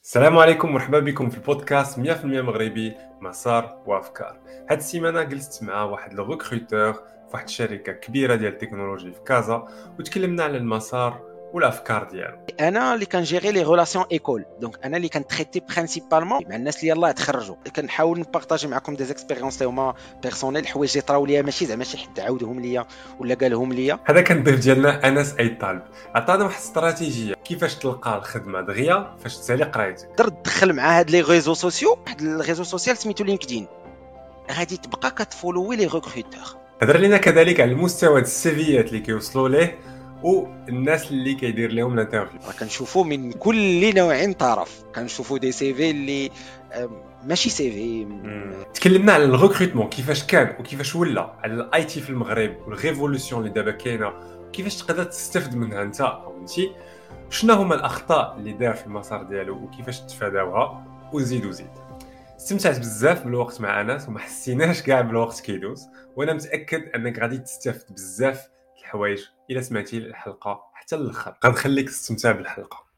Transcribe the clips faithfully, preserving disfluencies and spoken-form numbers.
السلام عليكم، مرحبا بكم في البودكاست مية بالمية مغربي مسار وافكار. هاد السيمانه جلست مع واحد لو ريكروتور في واحد الشركه كبيره ديال التكنولوجي في كازا، وتكلمنا على المسار والافكار ديالو. انا اللي كنجيري لي ريلاسيون ايكول، دونك انا اللي كنتريتي برينسيبالمون مع الناس اللي يلاه تخرجوا. كنحاول نبارطاجي معكم دي زيكسبيريونس اللي هما بيرسونيل، حوايج اللي طراو ليا ماشي زعما شي حد عاودهم ليا ولا قالهم ليا. هذا كان الضيف ديالنا انس اي طالب، عطانا واحد الاستراتيجيه كيفاش تلقى الخدمه دغيا فاش تسالي قرايتك. تقدر تدخل مع هاد لي ريزو سوسيو، واحد الريزو سوسيال سميتو لينكدين، غادي تبقى كتفولوي لي ريكروتور. هضر لينا كذلك على المستوى السيفيات اللي كيوصلوا ليه والناس اللي كيدير لهم الانترفيو. راه كنشوفوا من كل نوع طرف، كنشوفوا دي سي في اللي ماشي سي في. تكلمنا على الريكروتمون كيفاش كان وكيفاش ولا، على الاي تي في المغرب والريفولوسيون اللي دابا كاينه، كيفاش تقدر تستافد منها انت او انت، شنو هما الاخطاء اللي دار في المسار ديالو وكيفاش تفاداوها، وزيد وزيد. استمتعت بزاف بالوقت مع انس وما حسيناش كاع بالوقت كيدوز، وانا متاكد انك غادي تستافد بزاف الحوايج الا سمعتي الحلقه حتى للاخر. غنخليك تستمتع بالحلقه.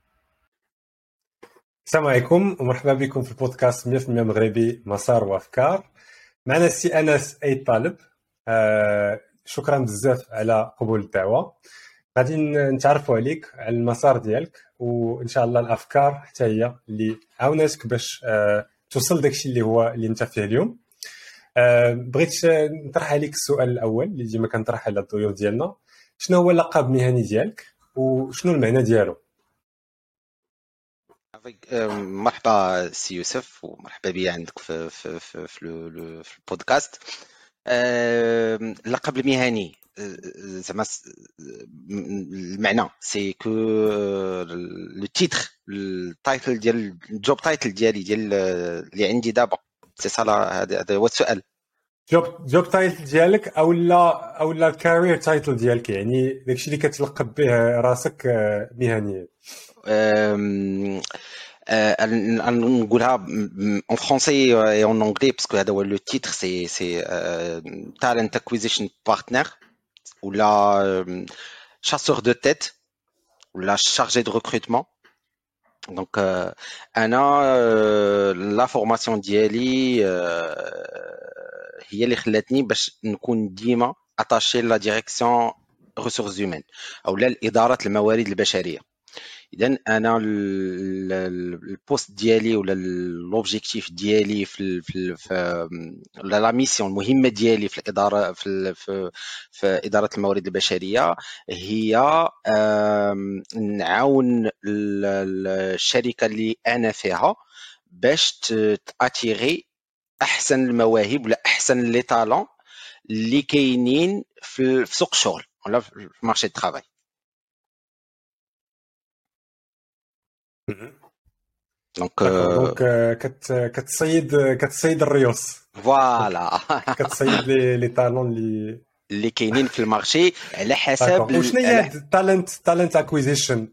السلام عليكم ومرحبا بكم في البودكاست مية بالمية مغربي مسار وافكار. معنا السي انس اي طالب. آه شكرا بزاف على قبول الدعوه. غادي نتعرفوا عليك، على المسار ديالك، وان شاء الله الافكار حتى هي اللي عاوناتك باش آه توصل داكشي اللي هو اللي انت فيه اليوم. آه بغيت نطرح عليك السؤال الاول اللي ديما كنطرح على الضيوف ديالنا. شنو هو اللقب المهني ديالك وشنو المعنى ديالو؟ مرحبا سي يوسف، ومرحبا بي عندك في في في, في, لو في البودكاست. اللقب المهني زعما المعنى سي كو لو تيتر، التايتل ديال الجوب تايتل ديالي ديال اللي عندي دابا، سي صا. هذا هو السؤال. جوب جوب تايتل ديالك او لا او لا كارير تايتل ديالك، يعني داكشي اللي كتلقب به راسك مهنيا. نقولها en français et en anglais parce que هذا le titre c'est c'est euh, talent acquisition partner ou la euh, chasseur de tête ou la chargée de recrutement. donc euh, انا euh, la formation ديالي euh, هي اللي خلاتني باش نكون ديما attaché la direction ressources humaines او لا الاداره الموارد البشريه. اذا انا البوست ديالي ولا لوبجيكتيف ديالي في في في لا ميسيون المهمه ديالي في الاداره في في, في اداره الموارد البشريه هي نعاون الشركه اللي انا فيها باش تاتيغي احسن المواهب ولا احسن لي طالون اللي كاينين في سوق الشغل ولا في مارشي الترافاي. دونك دونك كت كتصيد كتصيد الريوس. فوالا كتصيد لي لي طالون اللي اللي كاينين في المارشي على حسب. وشنو هي التالنت تالنت اكويزيشن؟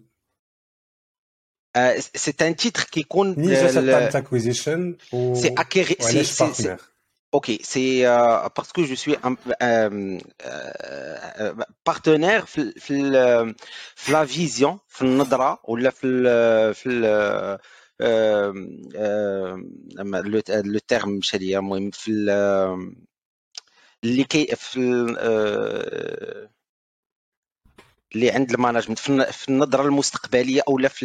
سي ان تيتر كيكون نيجا تالنت اكويزيشن و سي اكيغي سي سي Ok, c'est euh, parce que je suis un euh, euh, partenaire في la vision, في النظرة ولا في في le terme مشى ليا، المهم في اللي كي في اللي عند المانجمنت في النظرة المستقبلية او لا في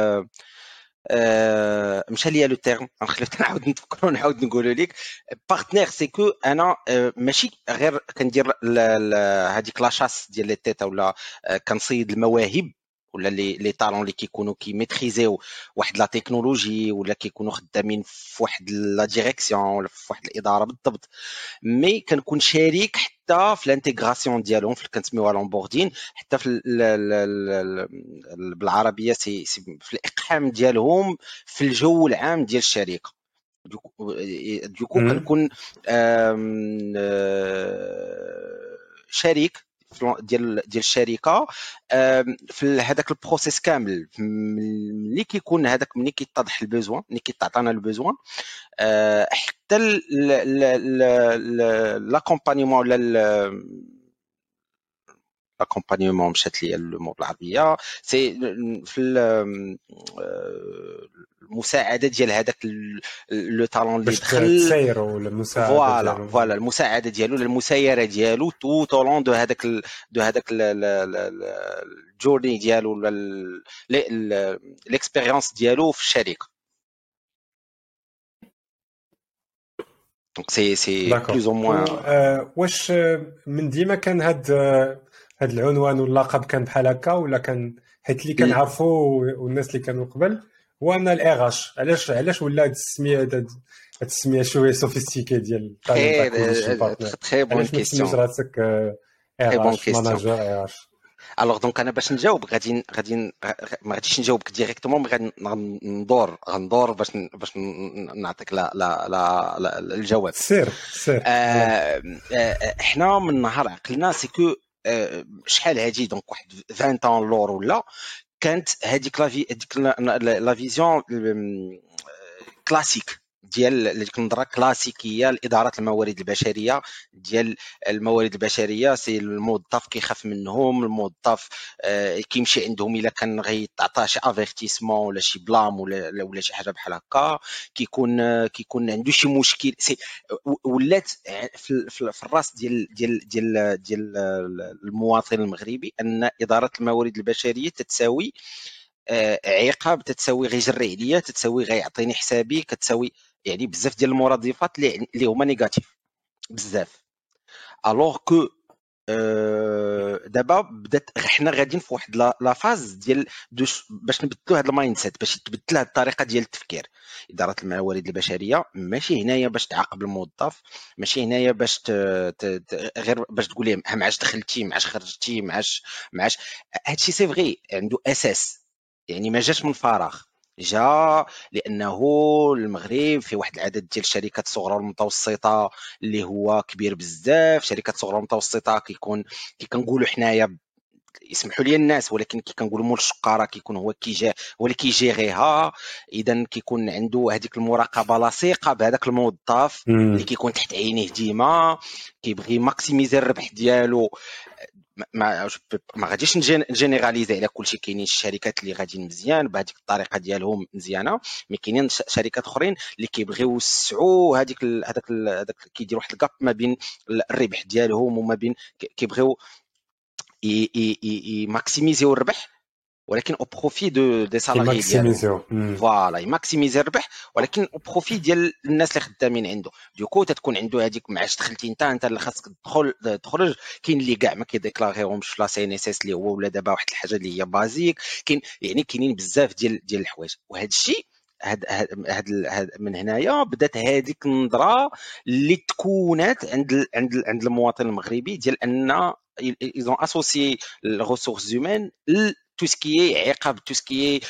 Euh, مشى ليا لو تيرم، غنخليك نعاود نفكر ونعاود نقول لك. بارتنير سي كو انا ماشي غير كندير هذيك لاشاس ديال لي تيتا ولا كنصيد المواهب ولا لي لي طالون اللي كيكونوا كيميتريزيو واحد لا تكنولوجي ولا كيكونوا خدامين في واحد لا ديريكسيون ولا في واحد الاداره بالضبط. مي كنكون شريك حتى في الانتيغراسيون ديالهم، في كنسميوها لونبوردين، حتى في بالعربيه سي في الاقحام ديالهم في الجو العام ديال الشركه. دوكو كنكون شريك ديال ديال الشركه في هذاك البروسيس كامل. ملي كيكون هذاك ملي كيتضح البوزوان، ملي كيتعطانا البوزوان، حتى لاكومبانيمون ولا لاكومبانيمون مشات ليا المور بالعربيه، سي في المساعده ديال هذاك لو طالون اللي باش دخل تسيروا المساعده فوالا ديالو فوالا المساعده ديالو المسايره ديالو تو طولون دو هذاك ال- دو هذاك ال- ال- ال- ال- الجورني ديالو ولا ال- ال- ال- الاكسبيريونس ديالو في الشركه. دونك سي سي داكور. بلوز او و موان. آه، واش آه، من ديما كان هاد آه، هاد العنوان واللقب كان بحال هكا، ولا كان حيت اللي كنعرفوا والناس اللي كانوا قبل هو ان الاغاش، علاش علاش ولا هاد السميه هاد هاد السميه شويه سوفيستيكي ديال تالنت اكوزيشن بارتنر؟ تري بون علاش ما تسميش كيستيون راسك تري بون اغاش كيستيون. ماناجر اغاش؟ الوغ دونك انا باش نجاوب غادي غادي ما غاديش نجاوبك ديريكتومون، غادي ندور غندور باش باش نعطيك لا لا لا الجواب. سير سير آه احنا من نهار عقلنا سي كو آه شحال هادي دونك واحد عشرين طون لور ولا كانت هذيك لا هذيك لا فيزيون كلاسيك ديال ديك النظره كلاسيكيه لاداره الموارد البشريه. ديال الموارد البشريه سي الموظف كيخاف منهم، الموظف آه كيمشي عندهم الا كان غيتعطى شي افيرتيسمون ولا شي بلام ولا ولا شي حاجه بحال هكا، كيكون آه كيكون عنده شي مشكل. سي ولات في, في, في الراس ديال ديال ديال ديال المواطن المغربي ان اداره الموارد البشريه تتساوي آه عقاب، تتساوي غير جري عليا، تتساوي غيعطيني حسابي، كتساوي يعني بزاف ديال المرادفات اللي هما نيجاتيف بزاف. الوغ كو أه دابا بدات حنا غاديين في واحد لا فاز ديال باش نبدلوا هذا المايند سيت، باش تبدل هذه الطريقه ديال التفكير. اداره الموارد البشريه ماشي هنايا باش تعاقب الموظف، ماشي هنايا باش ت... ت... ت... غير باش تقول ليه معاش دخلتي معاش خرجتي معاش معاش هادشي سي فغي عنده اساس، يعني ما جاش من فراغ، جا لانه المغرب في واحد العدد ديال الشركات الصغرى والمتوسطه اللي هو كبير بزاف. شركات صغرى ومتوسطه كيكون كي كنقولوا حنايا يسمحوا لي الناس، ولكن كي كنقولوا مول الشقاره كيكون هو كيجي هو اللي كيجيريها. اذا كيكون عنده هذيك المراقبه لاصقه بهذاك الموظف اللي كيكون تحت عينيه ديما، كيبغي ماكسيميزي الربح ديالو. ما ما غاديش نجينيراليزي على كلشي، كاينين الشركات اللي غاديين مزيان بهذيك الطريقه ديالهم مزيانه، مي كاينين شركات اخرين اللي كيبغيو يوسعوا هذيك هذاك هذاك كيديروا واحد الكاب ما بين الربح ديالهم وما بين كيبغيو يماكسيميزيو الربح ولكن او بروفي دو دي سالاري ديالهم. فوالا يماكسيميزي الربح ولكن او بروفي ديال الناس اللي خدامين عنده. دوكو تتكون عنده هذيك معاش دخلتي انت انت اللي خاصك تدخل تخرج. كاين اللي كاع ما كيديكلاغيهمش في لا سي ان اس اس اللي هو ولا دابا واحد الحاجه اللي هي بازيك. كاين يعني كاينين بزاف ديال ديال الحوايج، وهذا الشيء هاد هاد من هنايا بدات هذيك النظره اللي تكونات عند عند عند المواطن المغربي ديال ان ils ont associé les ressources humaines tout ce qui est عقاب tout ce qui est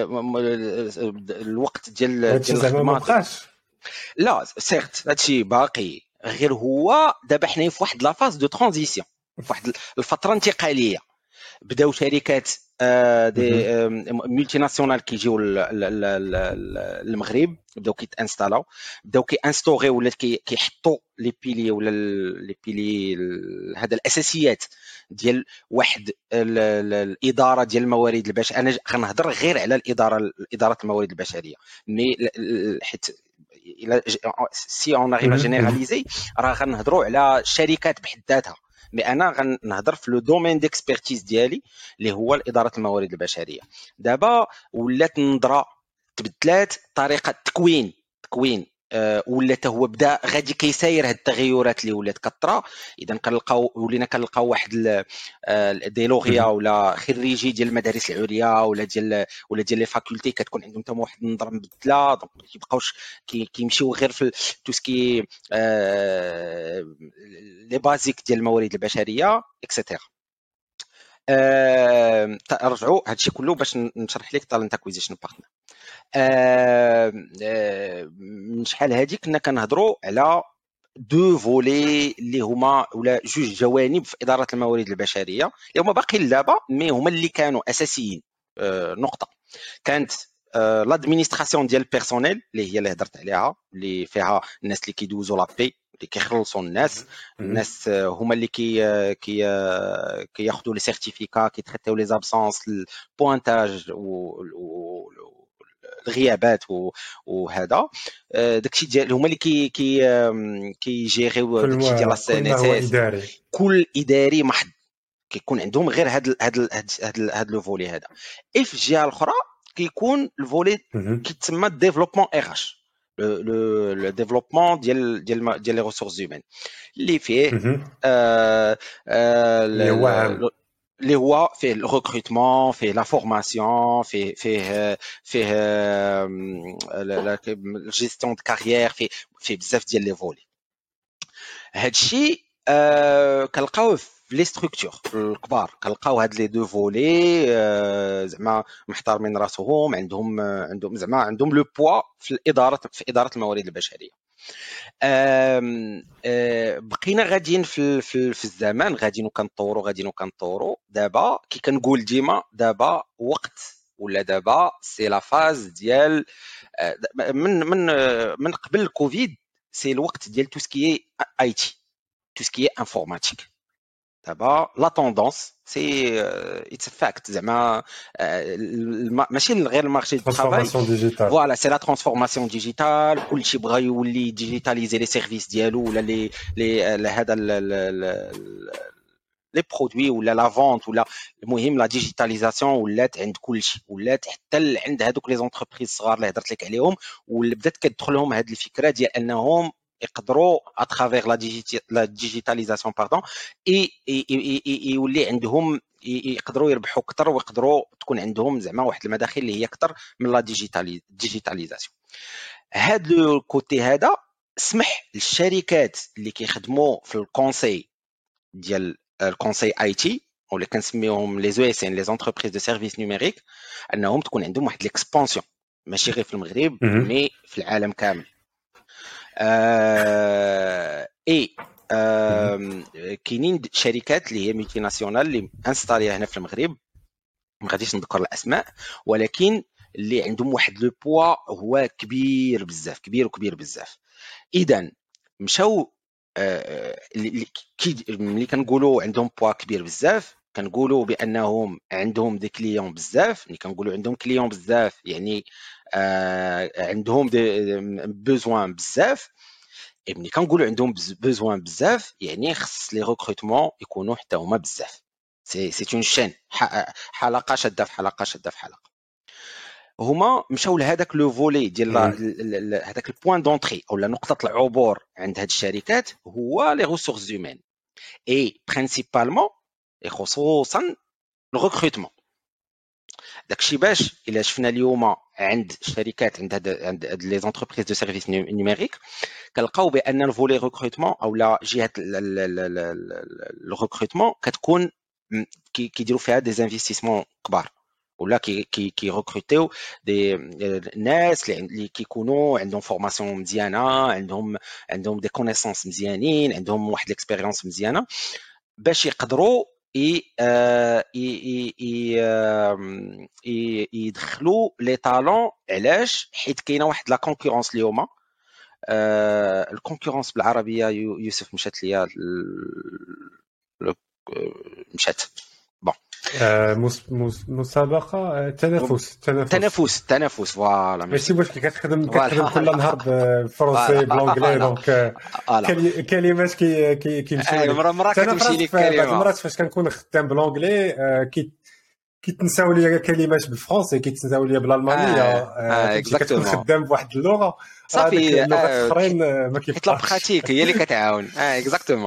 الوقت ديال ديال الخدمه. لا سيرت هادشي باقي، غير هو دابا حنا في واحد لا فاز دو ترانزيسيون، في واحد الفتره انتقاليه. بداو شركات دي ملتي ناسيونال كيجيو للمغرب، بداو كيتانستالاو، بداو كيانستوري ولا كيحطوا لي بيلي ولا لي بيلي هذا الاساسيات ديال واحد الاداره ديال الموارد البشريه. انا غنهضر غير على الاداره اداره الموارد البشريه، مي حيت سي اون اريفا جينيراليزي راه غنهضروا على شركات بحد ذاتها، مي انا غنهضر في لو دومين ديكسبيرتيز ديالي اللي هو اداره الموارد البشريه. دابا ولات النظره تبدلات، طريقه التكوين تكوين أه ولات هو بدا غادي كيساير هاد التغيرات اللي ولات كثره. اذا كنلقاو ولينا كنلقاو واحد دي لوغيا ولا خريجي ديال المدارس العليا ولا ديال ولا ديال لي فاكولتي كتكون عندهم حتى واحد النظره مبدله، دونك ما كيبقاوش كيمشيو غير في تو سكي أه لي بازيك ديال الموارد البشريه اكسيتيرا. أه رجعوا هادشي كله باش نشرح لك تالنت اكويزيشن بارتنر. أه أه من شحال هادي كنا كنهضروا على دو فولي اللي هما ولا جوج جوانب في اداره الموارد البشريه اللي هما باقيين دابا مي هما اللي كانوا اساسيين. أه نقطه كانت لادمينستراسيون ديال البيرسونيل اللي هي اللي هضرت عليها، اللي فيها الناس اللي كيدوزوا لابي اللي كيخلصوا الناس، الناس هما اللي كي كي كياخذوا لي سيرتيفيكا، كيتريتيو لي زابسونس، البوانتاج و الغيابات وهذا داكشي ديال هما اللي كي كي كيجيريو داكشي ديال السي ان اس كل اداري محض كيكون عندهم غير هاد هاد هاد هاد لو فولي هذا. اي في الجهه الاخرى كيكون الفولي كيتسمى ديفلوبمون ار اش لو لو ديفلوبمون ديال ديال ديال لي ريسورس هيومان اللي فيه اللي هو فيه الريكروتمون فيه لا فورماسيون فيه فيه فيه لا جيستيون دو كارير فيه فيه بزاف ديال لي فولي. هادشي كنلقاوه في لي ستركتور الكبار كنلقاو هاد لي دو فولي زعما محترمين راسهم عندهم عندهم زعما عندهم لو بوا في الاداره في اداره الموارد البشريه. بقينا غاديين في في الزمان غاديين وكنطوروا غاديين وكنطوروا دابا كي كنقول ديما دابا وقت ولا دابا سي لا فاز ديال من من من قبل الكوفيد سي الوقت ديال تو سكي اي تي تو سكي انفورماتيك. دابا لا توندونس سي اتس فاكت زعما ماشي غير المارشي دو طرافاي فوالا سي لا ترانسفورماسيون ديجيتال كلشي بغا يولي ديجيتاليزي لي سيرفيس ديالو ولا لي لي هذا لي برودوي ولا لا فونت ولا المهم لا ديجيتاليزاسيون ولات عند كلشي ولات حتى عند هذوك لي زونتربريز الصغار اللي هضرت لك عليهم واللي بدات كتدخلهم هذه الفكره ديال انهم يقدروا اترافير لا لا ديجيتاليزاسيون باردون اي يولي عندهم يقدروا يربحوا اكثر ويقدروا تكون عندهم زعما واحد المداخل اللي هي اكثر من لا ديجيتاليزاسيون. هاد لو كوتي هذا سمح للشركات اللي كيخدموا في الكونساي ديال الكونساي اي تي او اللي كنسميوهم لي زو اس ان لي زونتربريز دو سيرفيس نيميريك انهم تكون عندهم واحد ليكسبانسيون ماشي غير في المغرب مي في العالم كامل. آه اي آه كاينين شركات اللي هي ملتي ناسيونال اللي انستاليا هنا في المغرب ما غاديش نذكر الاسماء ولكن اللي عندهم واحد لو بوا هو كبير بزاف كبير وكبير بزاف. اذا مشاو آه اللي ملي كنقولوا عندهم بوا كبير بزاف كنقولوا بانهم عندهم دي كليون بزاف. ملي كنقولوا عندهم كليون بزاف يعني آه عندهم دي بوزوان بزاف. ملي كنقولوا عندهم بوزوان بزاف يعني خص لي ريكروتمون يكونوا حتى هما بزاف. سي سي اون شين حلقه شاده في حلقه شاده في حلقه. هما مشاو لهذاك لو فولي ديال هذاك البوين دونطري او نقطه العبور عند هاد الشركات هو لي ريسورس هيومان اي برينسيبالمون خصوصا الريكروتمون. داكشي باش الا شفنا اليوم عند الشركات عند هاد عند لي زونتربريز دو سيرفيس نيميريك كنلقاو بان الفولي ريكروتمون او لا جهه الريكروتمون كتكون كيديروا فيها دي انفستيسمون كبار ولا كي كي كي ريكروتيو دي ناس اللي كيكونوا عندهم فورماسيون مزيانه عندهم عندهم دي كونيسونس مزيانين عندهم واحد ليكسبيريونس مزيانه باش يقدروا يدخلوا لي طالون. علاش؟ حيت كاينه واحد لا كونكورونس اليوم الكونكورونس بالعربيه يوسف مشات ليا مشات بون مسابقه تنافس تنافس تنافس فوالا ماشي واش كتخدم كتخدم كل نهار بالفرنسي بالانجلي دونك كلمات كي كيمشيو مره مره كتمشي لك كلمه مرات فاش كنكون خدام بالانجلي كي كيتنساو ليا كلمات بالفرنسي كيتنساو ليا بالالمانيه كتكون خدام بواحد اللغه صافي اللغات الاخرين ما كيفاش لا براتيك هي اللي كتعاون اه اكزاكتومون.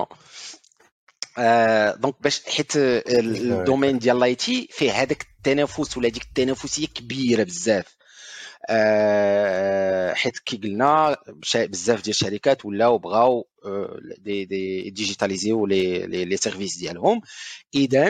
دونك باش حيت الدومين ديال لاي تي فيه هذاك التنافس ولا ديك التنافسيه كبيره بزاف حيت كي قلنا بزاف ديال الشركات ولاو بغاو دي دي ديجيتاليزيو لي لي سيرفيس ديالهم. اذا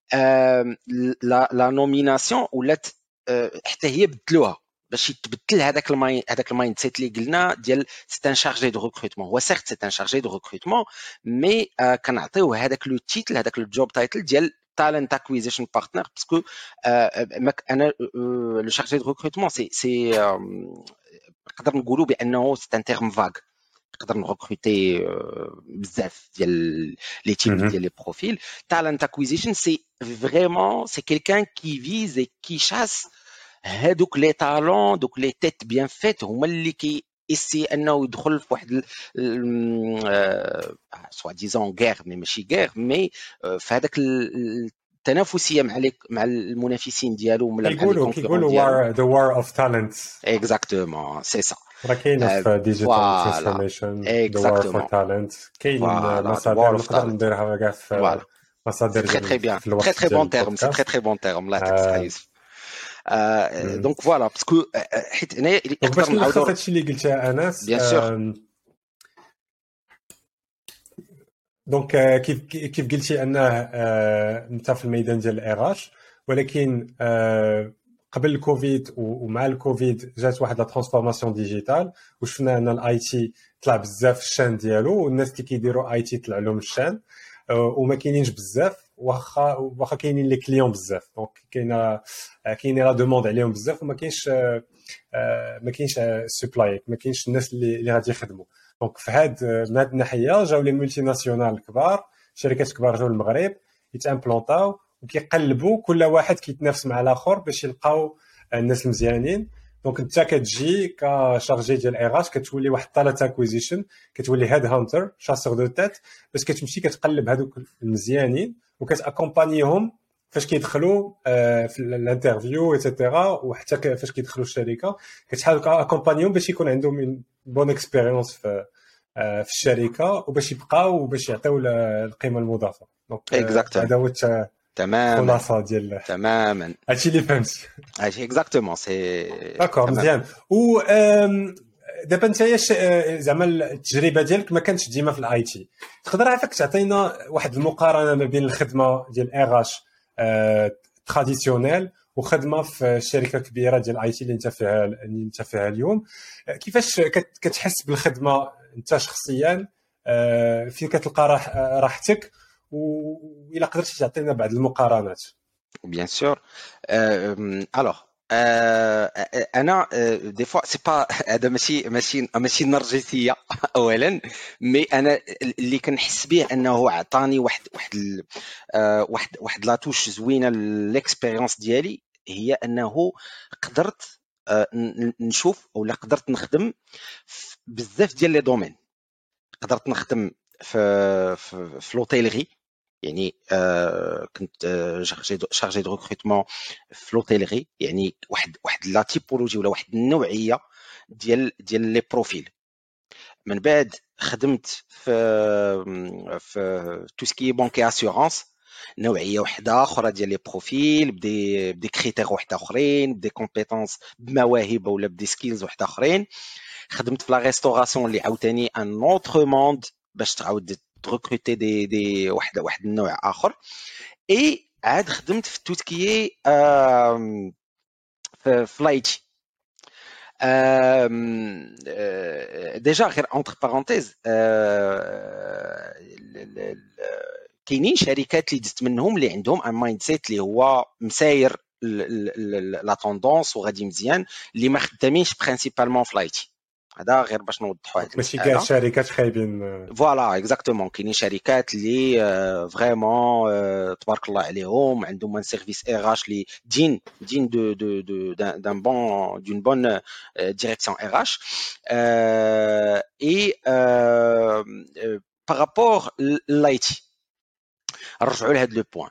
لا لا نوميناسيون ولات حتى هي بدلوها باش يتبدل هذاك الماين هذاك المايند سيت اللي قلنا ديال سي ان شارجي دو ريكروتمون. هو سيرت سي ان شارجي دو ريكروتمون مي كنعطيوه هذاك لو تيتل هذاك الجوب تايتل ديال talent acquisition partner باسكو انا لو شارجي دو ريكروتمون سي سي نقدر نقولوا بانه سي ان تيرم فاغ نقدر نغوكروتي بزاف ديال لي تيب ديال لي بروفيل. talent acquisition سي فريمون سي كيلكان كي فيز اي كي شاس هادوك لي طالون دوك لي تيت بيان فيت هما اللي كي اسي انه يدخل في واحد سوا ديزون غير مي ماشي غير مي في هذاك التنافسيه مع مع المنافسين ديالو ولا مع كيقولوا كيقولوا war the war of talents. اكزاكتومون سي سا راه كاينه في ديجيتال ترانسفورميشن the war for talent. كاينين مصادر نقدر نديرها كاع في مصادر ديال في الوقت تري تري بون تيرم سي تري تري بون تيرم الله يعطيك يوسف. دونك فوالا باسكو حيت هنايا نقدر نعاودو هادشي اللي قلتها انس بيان سور. دونك كيف كيف قلتي انه انت في الميدان ديال الاراش، ولكن قبل الكوفيد ومع الكوفيد جات واحد لا ترانسفورماسيون ديجيتال وشفنا ان الاي تي طلع بزاف الشان ديالو والناس اللي كيديروا اي تي طلع لهم الشان وما كاينينش بزاف واخا واخا كاينين لي كليون بزاف. دونك كاينه كاينه لا دوموند عليهم بزاف وما كاينش ما كاينش سبلاي ما كاينش الناس اللي اللي غادي يخدموا. دونك في هاد من هاد الناحيه جاو لي مولتي ناسيونال الكبار، شركات كبار جاو للمغرب يتامبلونطاو وكيقلبوا كل واحد كيتنافس مع الاخر باش يلقاو الناس المزيانين. دونك انت كتجي كشارجي ديال ايراش كتولي واحد طالات اكويزيشن، كتولي هيد هانتر شاسور دو تيت باش كتمشي كتقلب هذوك المزيانين وكتاكومبانيهم فاش كيدخلوا في الانترفيو ايتترا وحتى فاش كيدخلوا الشركه كتحاول اكومبانيهم باش يكون عندهم بون اكسبيريونس في في الشركه وباش يبقاو وباش يعطيو القيمه المضافه. دونك هذا هو تماما الخلاصه ديال تماما هادشي اللي فهمت. هادشي اكزاكتومون سي داكور مزيان. و دابا انت زعما التجربه ديالك ما كانتش ديما في الاي تي، تقدر عافاك تعطينا واحد المقارنه ما بين الخدمه ديال ايراش تراديسيونيل وخدمه في الشركه كبيره ديال الاي تي اللي انت فيها اللي انت فيها اليوم؟ كيفاش كتحس بالخدمه انت شخصيا؟ فين كتلقى راحتك؟ وإلا قدرتي تعطينا بعض المقارنات. بيان سور. الوغ انا دي فوا سي با هذا ماشي ماشي ماشي نرجسيه اولا، مي انا اللي كنحس به انه عطاني واحد واحد واحد واحد لاتوش زوينه ليكسبيريونس ديالي، هي انه قدرت نشوف ولا قدرت نخدم بزاف ديال لي دومين. قدرت نخدم في في لوتيلري، يعني آه كنت آه شارجي دو ريكروتمون في لوتيلري، يعني واحد واحد لا تيبولوجي ولا واحد النوعيه ديال ديال لي بروفيل. من بعد خدمت في في تو سكي بانكي اسيورانس، نوعيه واحده اخرى ديال لي بروفيل بدي بدي كريتير واحد اخرين، بدي كومبيتونس بمواهب ولا بدي سكيلز واحد اخرين. خدمت في لا ريستوراسيون اللي عاوتاني ان اوتر موند باش تعاود تريكروتي دي دي واحد واحد النوع اخر. اي عاد خدمت في توتكيي في فلايتي. ديجا غير اونتر بارونتيز كاينين شركات اللي دزت منهم اللي عندهم ان مايند سيت اللي هو مساير لا توندونس وغادي مزيان، اللي ما خدامينش برينسيبالمون فلايتي. هذا غير باش نوضحوا هذا ماشي كاع الشركات خايبين. فوالا اكزاكتومون، كاينين شركات اللي فريمون تبارك الله عليهم عندهم ان سيرفيس ايراش اللي دين دين دو دو دو دان بون دون بون ديريكسيون ايراش. اي بارابور لايتي نرجعوا لهذا لو بوين.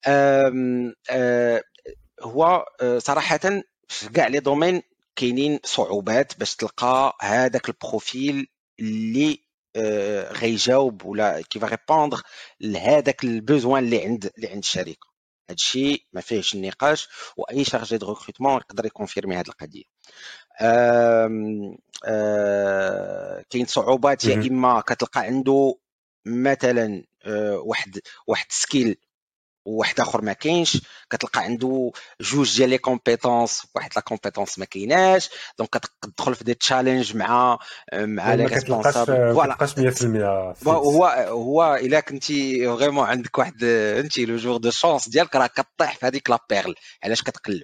هو صراحه في كاع لي دومين كاينين صعوبات باش تلقى هذاك البروفيل اللي آه غيجاوب ولا كيف ريبوندر لهذاك البوزوان اللي عند اللي عند الشركه. هادشي ما فيهش النقاش، واي شارجي دو ريكروتمون يقدر يكونفيرمي هذه القضيه. آه آه كاين صعوبات، يا اما كتلقى عنده مثلا آه واحد واحد سكيل وواحد اخر ما كاينش، كتلقى عنده جوج ديال لي كومبيتونس واحد لا كومبيتونس ما كايناش، دونك كتدخل في دي تشالنج مع مع لي ريسبونسابل. فوالا ما كتلقاش مية في المية. هو هو الا كنتي فريمون عندك واحد انت لو جور دو شانس ديالك راه كطيح في هذيك لا بيرل علاش كتقلب.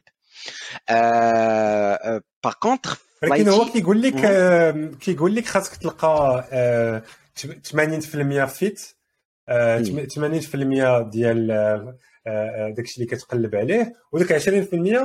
ا باغ كونطخ ولكن هو كيقول لك كيقول لك خاصك تلقى ثمانين في المية فيت، ثمانين في المية ديال داكشي اللي كتقلب عليه، وداك عشرين في المية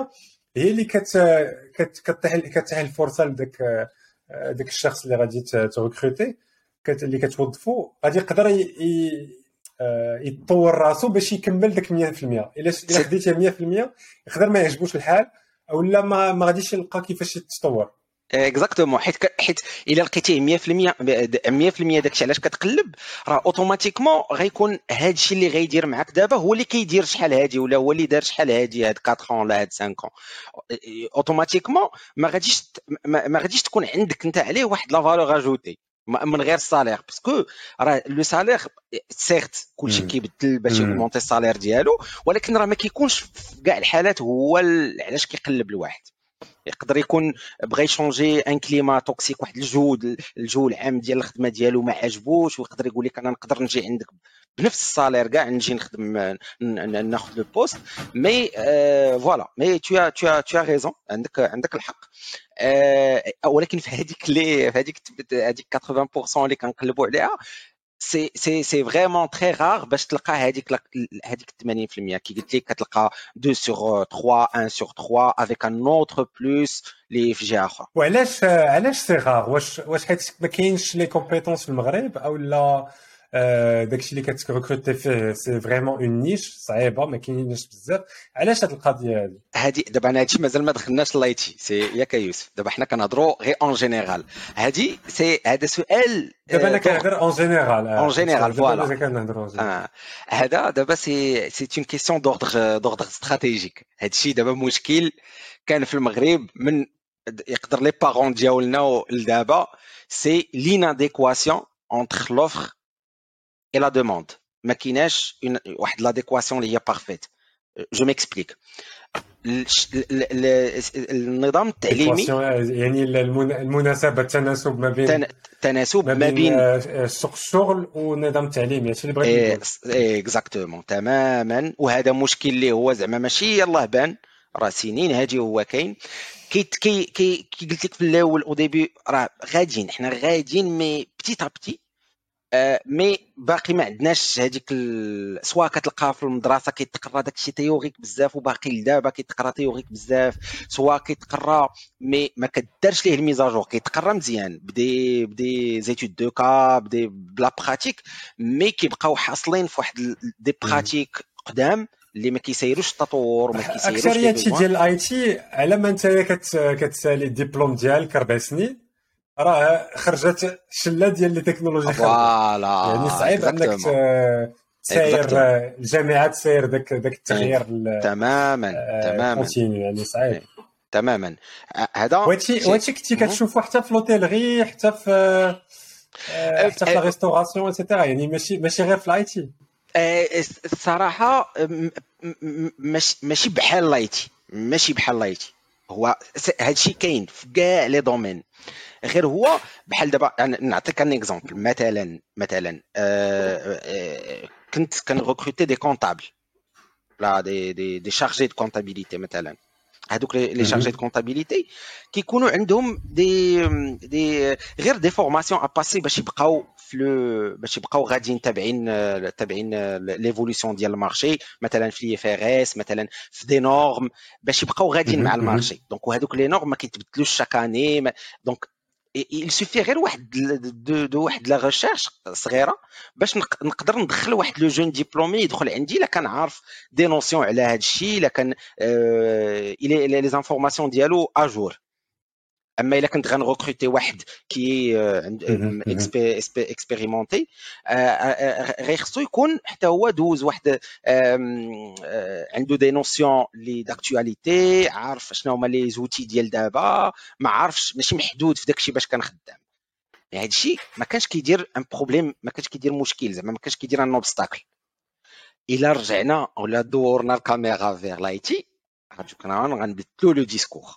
هي اللي كت كت كتح كتح الفرصه لذاك داك الشخص اللي غادي تغوكروتي كت اللي كتوظفو غادي يقدر ي- ي- آه، يتطور راسو باش يكمل داك مية في المية. الا ش- الا سي خديتيه مية في المية يقدر ما يعجبوش الحال او لا ما ما غاديش يلقى كيفاش يتطور. اكزاكتومون، حيت ك- حيت الا لقيتيه مية في المية مية في المية داكشي علاش كتقلب، راه اوتوماتيكمون غيكون هادشي اللي غيدير معاك دابا هو اللي كيدير شحال هادي، ولا هو اللي دار شحال هادي، هاد أربعة ans ولا هاد خمسة ans. اوتوماتيكمون ما غاديش ت- ما ما غاديش تكون عندك انت عليه واحد لا فالور اجوتي من غير السالير، باسكو راه لو سالير سيرت كلشي مم. كيبدل باش مم. يغمونتي السالير ديالو، ولكن راه ما كيكونش في كاع الحالات هو ال- علاش كيقلب الواحد. يقدر يكون بغى يشونجي ان كليما توكسيك، واحد الجو الجو العام ديال الخدمه ديالو ما عجبوش، ويقدر يقول لك انا نقدر نجي عندك بنفس السالير كاع نجي نخدم ن- ن- ناخذ لو بوست. مي فوالا، مي تو تو تو ريزون، عندك عندك الحق. آه، ولكن في هذيك اللي في هذيك هذيك ثمانين بالمية اللي كنقلبوا عليها، سي سي سي فريمون تري رار باش تلقى هذيك هذيك ثمانين بالمية. كي قلت لك كتلقى deux sur trois، واحد sur trois avec un autre plus اللي في جهه اخرى. وعلاش علاش سي غار؟ واش واش حيت ما كاينش لي كومبيتونس في المغرب او لا آه، داكشي اللي كتركروتي فيه سي فريمون اون نيش صعيبه ما كاينينش بزاف؟ علاش هاد القضيه هادي؟ هادي دابا انا هادشي مازال ما دخلناش لايتي سي ياك يوسف، دابا حنا كنهضروا غير اون جينيرال. هادي سي هذا سؤال دابا انا دور كنهضر اون جينيرال. اون اه جينيرال دابا فوالا. مازال كنهضروا اون جينيرال. آه. هذا دابا سي سي اون كيسيون دوردر دوردر استراتيجيك. هادشي دابا مشكل كان في المغرب من يقدر لي بارون ديالنا لدابا، سي ليناديكواسيون اونتر لوفر اي لا دوموند. ما كايناش واحد لاديكواسيون اللي هي بارفيت. جو ميكسبليك. النظام التعليمي ايكواسيون يعني المن- المناسبه التناسب ما بين تناسب ما ما بين بين آه، سوق الشغل والنظام التعليمي. هادشي اللي بغيت نقول. اكزاكتومون تماما. وهذا مشكل اللي هو زعما ماشي يلاه بان، راه سنين هادي هو كاين. كي كي كي كي قلت لك في الاول او ديبي راه غاديين حنا غاديين مي بتيت ا بتي. آه، مي باقي ما عندناش هذيك ال... سواء كتلقى في المدرسه كيتقرا داكشي تيوريك بزاف وباقي لدابا كيتقرا تيوريك بزاف، سواء كيتقرا مي ما كدارش ليه الميزاجور، كيتقرا مزيان بدي بدي زيتود دو كا بدي بلا براتيك، مي كيبقاو حاصلين في واحد ال- دي مم. براتيك قدام اللي ما كيسيروش التطور وما كيسيروش لي اكثريه شي بيزوان. ديال الاي تي على ما انت كت كتسالي الدبلوم ديالك اربع سنين راه خرجت شله ديال لي تكنولوجي خارجه. يعني فوالا صعيب انك اكزاكتومون ت- تساير اكزاكتومون آه، الجامعه تساير داك داك التغيير تماما تماما الكونتينيو. يعني صعيب. إيه، تماما. ه- هذا وهادشي شيء. وهادشي كنتي مهم. كتشوفو حتى في لوتيلغي، حتى في آه، أه، حتى في لا أه، ريستوراسيون ايتترا. يعني ماشي ماشي غير في الاي تي. أه، الصراحه م- م- م- ماشي ماشي بحال لايتي، ماشي بحال لايتي. هو س- هادشي كاين في كاع لي دومين، غير هو بحال دابا يعني نعطيك ان اكزومبل. مثلا مثلا أه، أه، كنت كنغوكروتي دي كونطابل، لا دي دي دي شارجي دو كونطابيليتي مثلا. هذوك لي شارجي دو مهم. كونطابيليتي كيكونوا عندهم دي دي غير دي فورماسيون ا باسي باش يبقاو في لو باش يبقاو غاديين تابعين تابعين ليفولوسيون ديال المارشي، مثلا في اف ار اس، مثلا في دي نورم، باش يبقاو غاديين مع مهم. مهم. المارشي. دونك وهذوك لي نورم ما كيتبدلوش شاك اني. دونك il suffit غير واحد دو, دو واحد لا ريشيرش صغيره باش نق- نقدر ندخل واحد لو جون ديبلومي يدخل عندي الا كان عارف دي نوسيون على هذا الشيء، الا كان الى لي زانفورماسيون ديالو اجور. اما الا كنت غنغوكروتي واحد كي مهم. مهم. اكسبيريمونتي غير خصو يكون حتى هو دوز واحد آم، آه، عنده دي نوسيون لي داكتواليتي، عارف شنو هما لي زوتي ديال دابا، ما عارفش ماشي محدود في داكشي باش كان خدام. يعني هذا الشيء ما كانش كيدير ان بروبليم، ما كانش كيدير مشكل، زعما ما كانش كيدير ان اوبستاكل. الا رجعنا ولا دورنا الكاميرا فيغ لايتي غنشوف كنا غنبدلو لو ديسكور.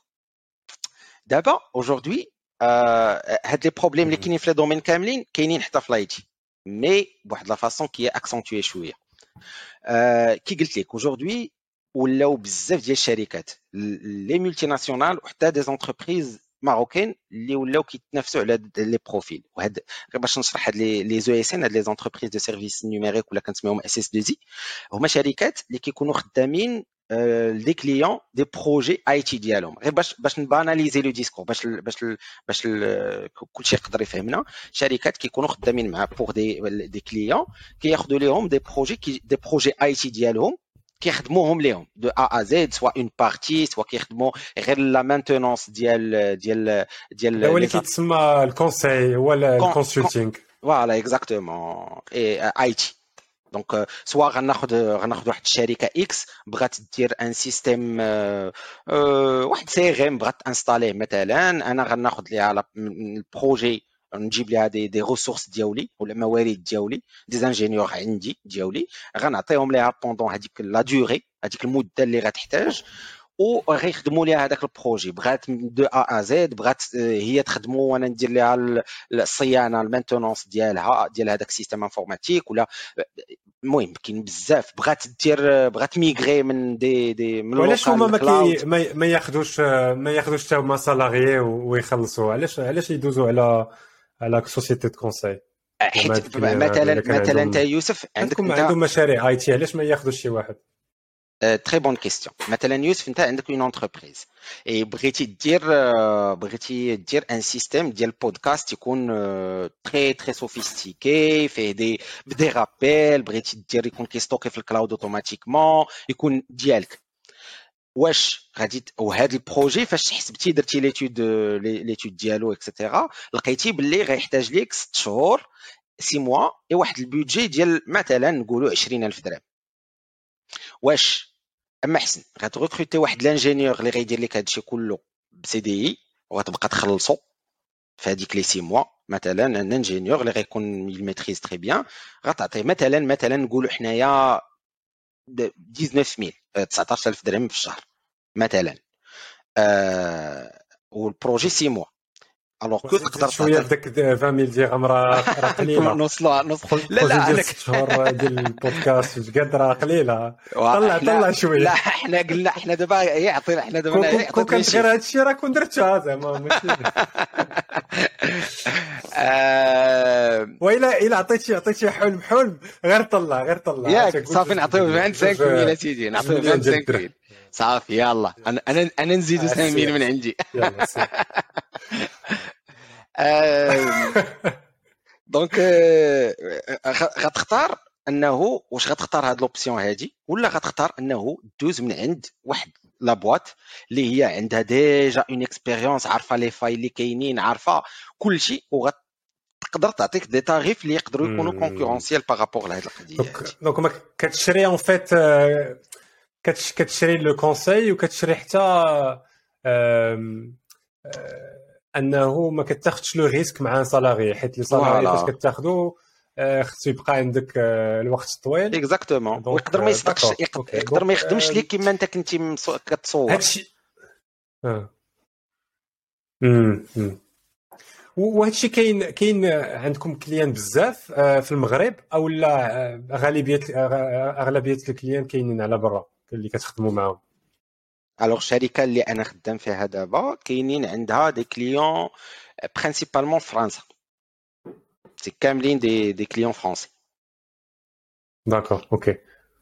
دابا اaujourd'hui هاد لي بروبليم اللي مهم. كاينين في لي دومين كاملين كاينين حتى في لايتي، مي بواحد لا فاصون كي اكسنتوي شويه. آه، كي قلت لك اaujourd'hui ولاو بزاف ديال الشركات لي مولتي ناسيونال وحتى دي زونتربريز ماروكين اللي ولاو كيتنافسوا على هاد لي بروفيل. وهاد غير باش نشرح هاد لي لي او اس ان، هاد لي زونتربريز دو سيرفيس نيميريك ولا كنسميهم اس اس دو زي، هما شركات اللي كيكونوا خدامين دي كليون دي بروجي اي تي ديالهم غير باش باش نباناليزي لو ديسكور باش ال باش ال باش ال كلشي يقدر يفهمنا. شركات كيكونوا خدامين مع بوغ دي دي كليون كياخذوا ليهم دي بروجي كي دي بروجي اي تي ديالهم كيخدموهم ليهم دو ا ا زد سوا اون بارتي سوا كيخدموا غير لا مانتونونس ديال ديال ديال هو اللي كيتسمى الكونساي ولا الكونسلتينغ. فوالا اكزاكتومون اي تي. دونك سوا غناخذ غناخذ واحد الشركه اكس بغات دير ان سيستيم أه أه واحد سي غيم بغات انستاليه مثلا، انا غناخذ ليها البروجي نجيب ليها دي دي ريسورس ديالي ولا موارد ديالي دي زانجينيور عندي ديالي غنعطيهم ليها بوندون هذيك لا دوري هذيك المده اللي غتحتاج وغيخدموا ليها هذاك البروجي. بغات دو ا ا زد بغات هي تخدموا وانا ندير ليها الصيانه المانتونونس ديالها ديال هذاك السيستم انفورماتيك ولا المهم كاين بزاف. بغات دير بغات ميغري من دي دي من علاش هما ما كي ما ياخذوش ما ياخذوش حتى هما سالاريي ويخلصوا؟ علاش علاش يدوزوا على على سوسيتي دو كونساي؟ مثلا مثلا انت يوسف عندك عندهم مشاريع اي تي، علاش ما ياخذوش شي واحد؟ تري بون كيستيون. مثلا يوسف انت عندك اون انتربريز اي بغيتي دير بغيتي دير ان سيستيم ديال بودكاست يكون تري تري سوفيستيكي فيه دي بدي رابيل، بغيتي دير يكون كيستوكي في الكلاود اوتوماتيكمون يكون ديالك. واش غادي وهذا البروجي فاش حسبتي درتي ليتود ليتود ديالو اكسيتيرا لقيتي باللي غيحتاج ليك ست شهور سي موا اي واحد البودجي ديال مثلا نقولوا عشرين ألف درهم. واش اما حسن غتغوكروتي واحد لانجينيور اللي غيدير لك هادشي كله بسي دي اي وغتبقى تخلصو في هذيك لي سي موا مثلا ان انجينيور اللي غيكون يميتريز تري بيان غتعطيه مثلا مثلا نقولوا حنايا تسعطاش ميل تسعطاش ألف درهم في الشهر مثلا آه والبروجي سي موا الوغ كو تقدر شويه داك عشرين ميل درهم راه قليله نوصلوا نوصل لا لا انا شهور ديال البودكاست قد راه قليله. طلع طلع شويه. لا حنا قلنا حنا دابا يعطينا حنا دابا يعطينا كنت غير هادشي راه كون درتها زعما ماشي وإلا إلا عطيتي عطيتي حلم حلم غير طلع غير طلع ياك صافي نعطيو خمسة وعشرين ميل سيدي نعطيو خمسة وعشرين ميل صافي يلا انا انا انا نزيدو خمسة ميل من عندي يلا دونك غتختار انه واش غتختار هاد لوبسيون هادي ولا غتختار انه دوز من عند واحد لا بواط اللي هي عندها ديجا اون اكسبيريونس عارفه لي فايل اللي كاينين عارفه كلشي وغتقدر تعطيك دي تاريف اللي يقدروا يكونوا كونكورونسيال بارابور لهاد القضيه. دونك ما كتشري اون فيت كتشري لو كونساي وكتشري حتى انه ما كتاخذش لو ريسك مع ان سالاري حيت لي سالاري فاش كتاخذو خصو يبقى عندك الوقت الطويل اكزاكتومون ويقدر ما يصدقش يقدر ما يخدمش ليك كيما انت كنتي كتصور هادشي اه امم وهادشي كاين كاين عندكم كليان بزاف في المغرب او لا غالبيه اغلبيه الكليان كاينين على برا اللي كتخدموا معاهم؟ الوغ الشركه اللي انا خدام فيها دابا كاينين عندها دي كليون برينسيبالمون فرنسا سي كاملين دي دي كليون فرونسي. داكور اوكي.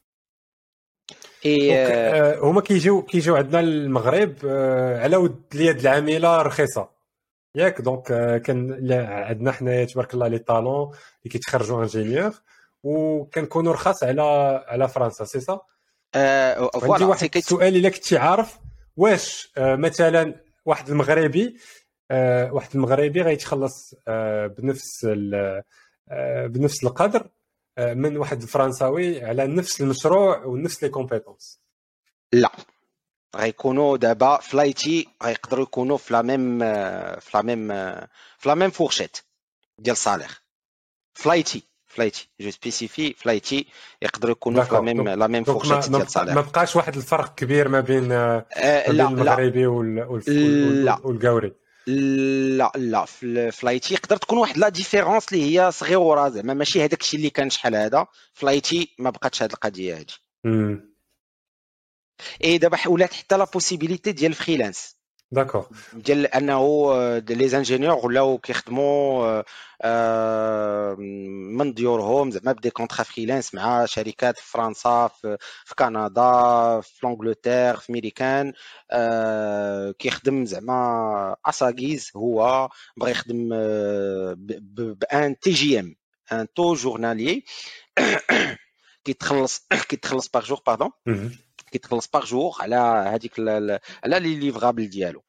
اي هما كيجيو كيجيو عندنا المغرب على ود اليد العامله رخيصه ياك دونك كان عندنا حنايا تبارك الله لي طالون اللي كيتخرجوا انجينيور وكنكونوا رخاص على على فرنسا سي سا. أه عندي واحد السؤال الا كنتي عارف واش أه مثلا واحد المغربي أه واحد المغربي غيتخلص أه بنفس أه بنفس القدر أه من واحد الفرنساوي على نفس المشروع ونفس لي كومبيتونس؟ لا غيكونوا دابا فلايتي غيقدروا يكونوا في لا ميم في لا ميم في لا ميم فورشيت ديال صالح. فلايتي فلايتي جو سبيسيفي فلايتي يقدروا يكونوا في لا ميم لا ميم فورشيت ديال صالح. ما بقاش واحد الفرق كبير ما بين أه بين المغربي والكاوري؟ لا لا في فلايتي يقدر تكون واحد لا ديفيرونس اللي هي صغيره زعما ماشي هذاك الشيء اللي كان شحال هذا. فلايتي ما بقاتش هذه القضيه هذه. امم اي دابا ولات حتى لا بوسيبيليتي ديال الفريلانس داكور ديال انه لي زانجينيور ولاو كيخدموا آه، من ديورهم زعما بدي كونطرا فريلانس مع شركات في فرنسا في, في كندا في لانجلتير في ميريكان آه، كيخدم زعما اساغيز هو بغى يخدم آه، بان تي جي ام ان تو جورنالي كيتخلص كيتخلص باغ جور باردون كيتخلص باغ جور على هذيك على لي ليفرابل ديالو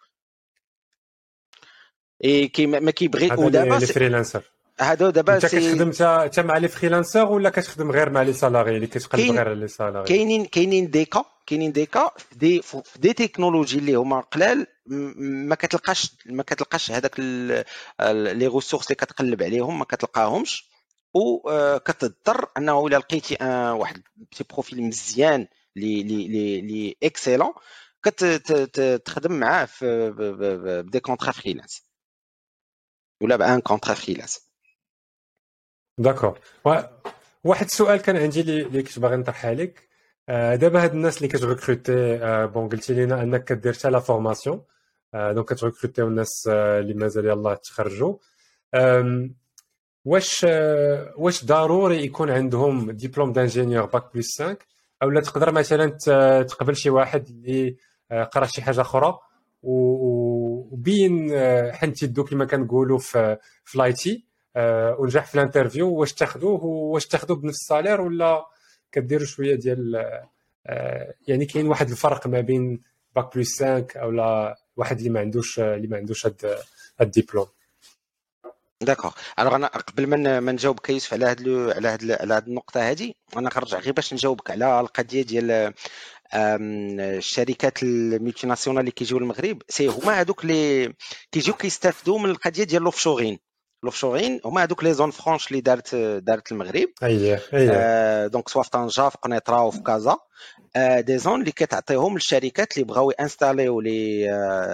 اي كي ما كيبغي ودابا لي فريلانسر هادو دابا انت كتخدم حتى مع لي فريلانسر ولا كتخدم غير مع لي سالاري اللي كتقلب غير على لي سالاري كاينين كاينين ديكا كاينين ديكا في دي في دي تكنولوجي اللي هما قلال ما كتلقاش ما كتلقاش هذاك لي ريسورس اللي كتقلب عليهم ما كتلقاهمش و كتضطر انه الا لقيتي واحد بتي بروفيل مزيان لي لي لي لي اكسيلون كتخدم معاه في بدي كونطرا فريلانس ولا بان كونطرا فريلانس. داكور واحد السؤال كان عندي اللي كنت باغي نطرحها عليك دابا هاد الناس اللي كتريكروتي بون قلتي لينا انك كدير حتى لا فورماسيون دونك كتريكروتيو الناس اللي مازال يلاه تخرجوا واش واش ضروري يكون عندهم ديبلوم دانجينيور باك بلس خمسة او لا تقدر مثلا تقبل شي واحد اللي قرا شي حاجه اخرى وبين حنتي الدو كما كنقولوا في في لايتي أه ونجح في الانترفيو واش تاخذوه واش تاخذوه بنفس السالير ولا كديروا شويه ديال أه يعني كاين واحد الفرق ما بين باك بلس خمسة او لا واحد اللي ما عندوش اللي ما عندوش هاد الدبلوم. داكوغ الوغ انا قبل ما ما نجاوبك يوسف على هاد على هاد على هاد النقطه هذه انا غنرجع غير باش نجاوبك على القضيه ديال الشركات الملتي ناسيونال اللي كيجيو للمغرب سي هما هذوك اللي كيجيو كيستافدوا من القضيه ديال لوفشورين لوفشورين هما هذوك لي زون فرانش اللي دارت دارت المغرب اييه اييه دونك سوا في طنجه في قنيطره وفي كازا دي زون اللي كتعطيهم للشركات اللي بغاو انستاليو لي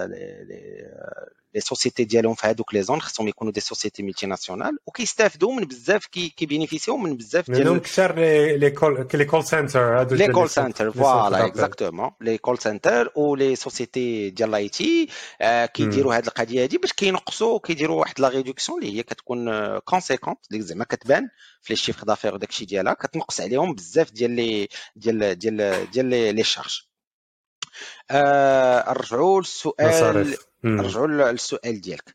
لي سوسيتي ديالهم في هذوك لي زون خصهم يكونوا دي سوسيتي ملتي ناسيونال وكيستافدوا من بزاف كي كيبينيفيسيو من بزاف ديال منهم كثر لي كول لي كول سنتر هادو لي كول سنتر فوالا اكزاكتومون لي كول سنتر و لي سوسيتي ديال لاي تي كيديروا هذه القضيه هذه باش كينقصوا كيديروا واحد لا ريدكسيون اللي هي كتكون كونسيكونت اللي زعما كتبان في لي شيفر دافير وداكشي ديالها كتنقص عليهم بزاف ديال لي ديال ديال ديال لي شارج. نرجعوا للسؤال نرجعوا للسؤال ديالك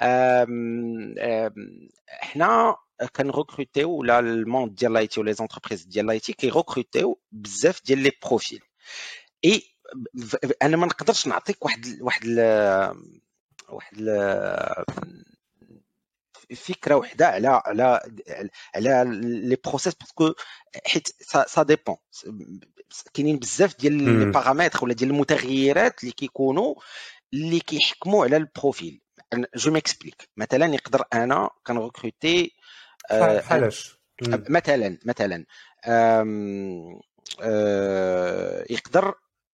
حنا كنغوكروتيو ولا الموند ديال لاي تي ولي زونتربريز ديال لاي تي كيغوكروتيو بزاف ديال لي بروفيل اي انا ما نقدرش نعطيك واحد واحد ال واحد ال فكره وحده على على على لي بروسيس باسكو حيت سا ديبون كاينين بزاف ديال لي بارامتر ولا ديال المتغيرات اللي كيكونوا اللي كيحكموا على البروفيل. جو ميكسبليك مثلا يقدر انا كنغوكروتي بحالاش مثلا مثلا يقدر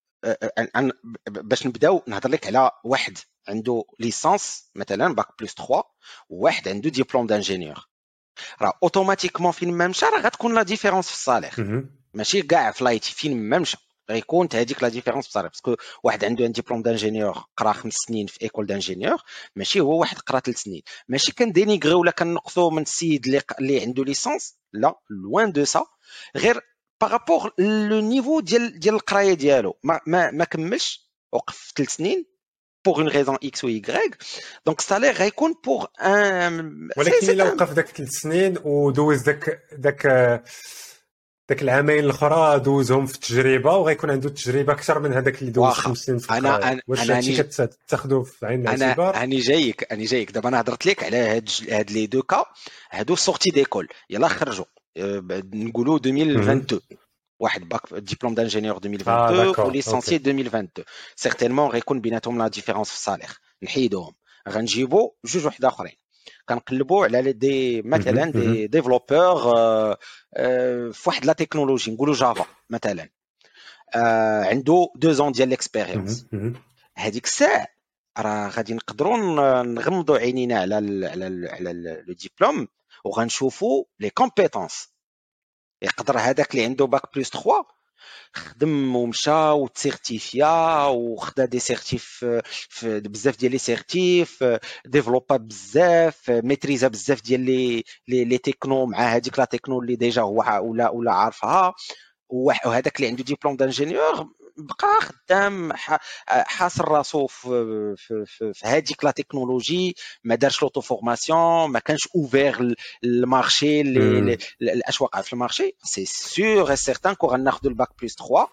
باش نبداو نهضر لك على واحد عنده ليسانس مثلا باك بلس ثلاثة وواحد عنده ديبلوم دانجينيور راه اوتوماتيكمون فين ما مشى راه غتكون لا ديفيرونس في الصالير ماشي كاع في لايتي فين ما مشى غيكون هذيك لا ديفيرونس في الصالير باسكو واحد عنده ان ديبلوم دانجينيور قرا خمس سنين في ايكول دانجينيور ماشي هو واحد قرا ثلاث سنين ماشي كندينيغري ولا كنقصوا من السيد اللي اللي عنده ليسانس لا لوان دو سا غير بارابور لو نيفو ديال ديال القرايه ديالو ما ما, ما كملش وقف في ثلاث سنين pour une raison X ou Y donc salaire غيكون pour un ولكن الا وقف داك ثلاث سنين ودوز داك داك داك العامين الاخرى دوزهم في التجربه وغيكون عنده تجربه اكثر من هذاك اللي دوز خمس سنين في القرايه. انا واش هادشي كتاخذوه في عين الاعتبار؟ انا انا جايك انا جايك دابا انا هضرت لك على هاد هاد لي دو كا هادو سورتي ديكول يلا خرجوا نقولوا ألفين واثنين وعشرين واحد باك ديبلوم دانجينيور ألفين واثنين وعشرين وليسانسي ألفين واثنين وعشرين سيغتينمون غيكون بيناتهم لا ديفيرونس في الصالير نحيدوهم غنجيبوا جوج وحده اخرين كنقلبوا على دي مثلا دي ديفلوبور في واحد لا تكنولوجي نقولوا جافا مثلا عنده دو زون ديال ليكسبيريونس هذيك الساعه راه غادي نقدروا نغمضوا عينينا على ال على ال على لو ديبلوم وغنشوفوا لي كومبيتونس يقدر هذاك اللي عنده باك بلس ثلاثة خدم ومشى وتسيرتيفيا وخدا دي سيرتيف في بزاف ديال لي سيرتيف، ديفلوبا بزاف، ميتريزا بزاف ديال لي لي تكنو مع هذيك لا تكنو اللي ديجا هو ولا ولا عارفها. وهذاك اللي عنده ديبلوم دانجينيور بقى خدام حاصر راسو في في في هذيك لا تكنولوجي، ما دارش لوطو فورماسيون، ما كانش اوفير المارشي الاشواق في المارشي. سي سور اي سيرتان كو غناخذوا الباك بلس ثلاثة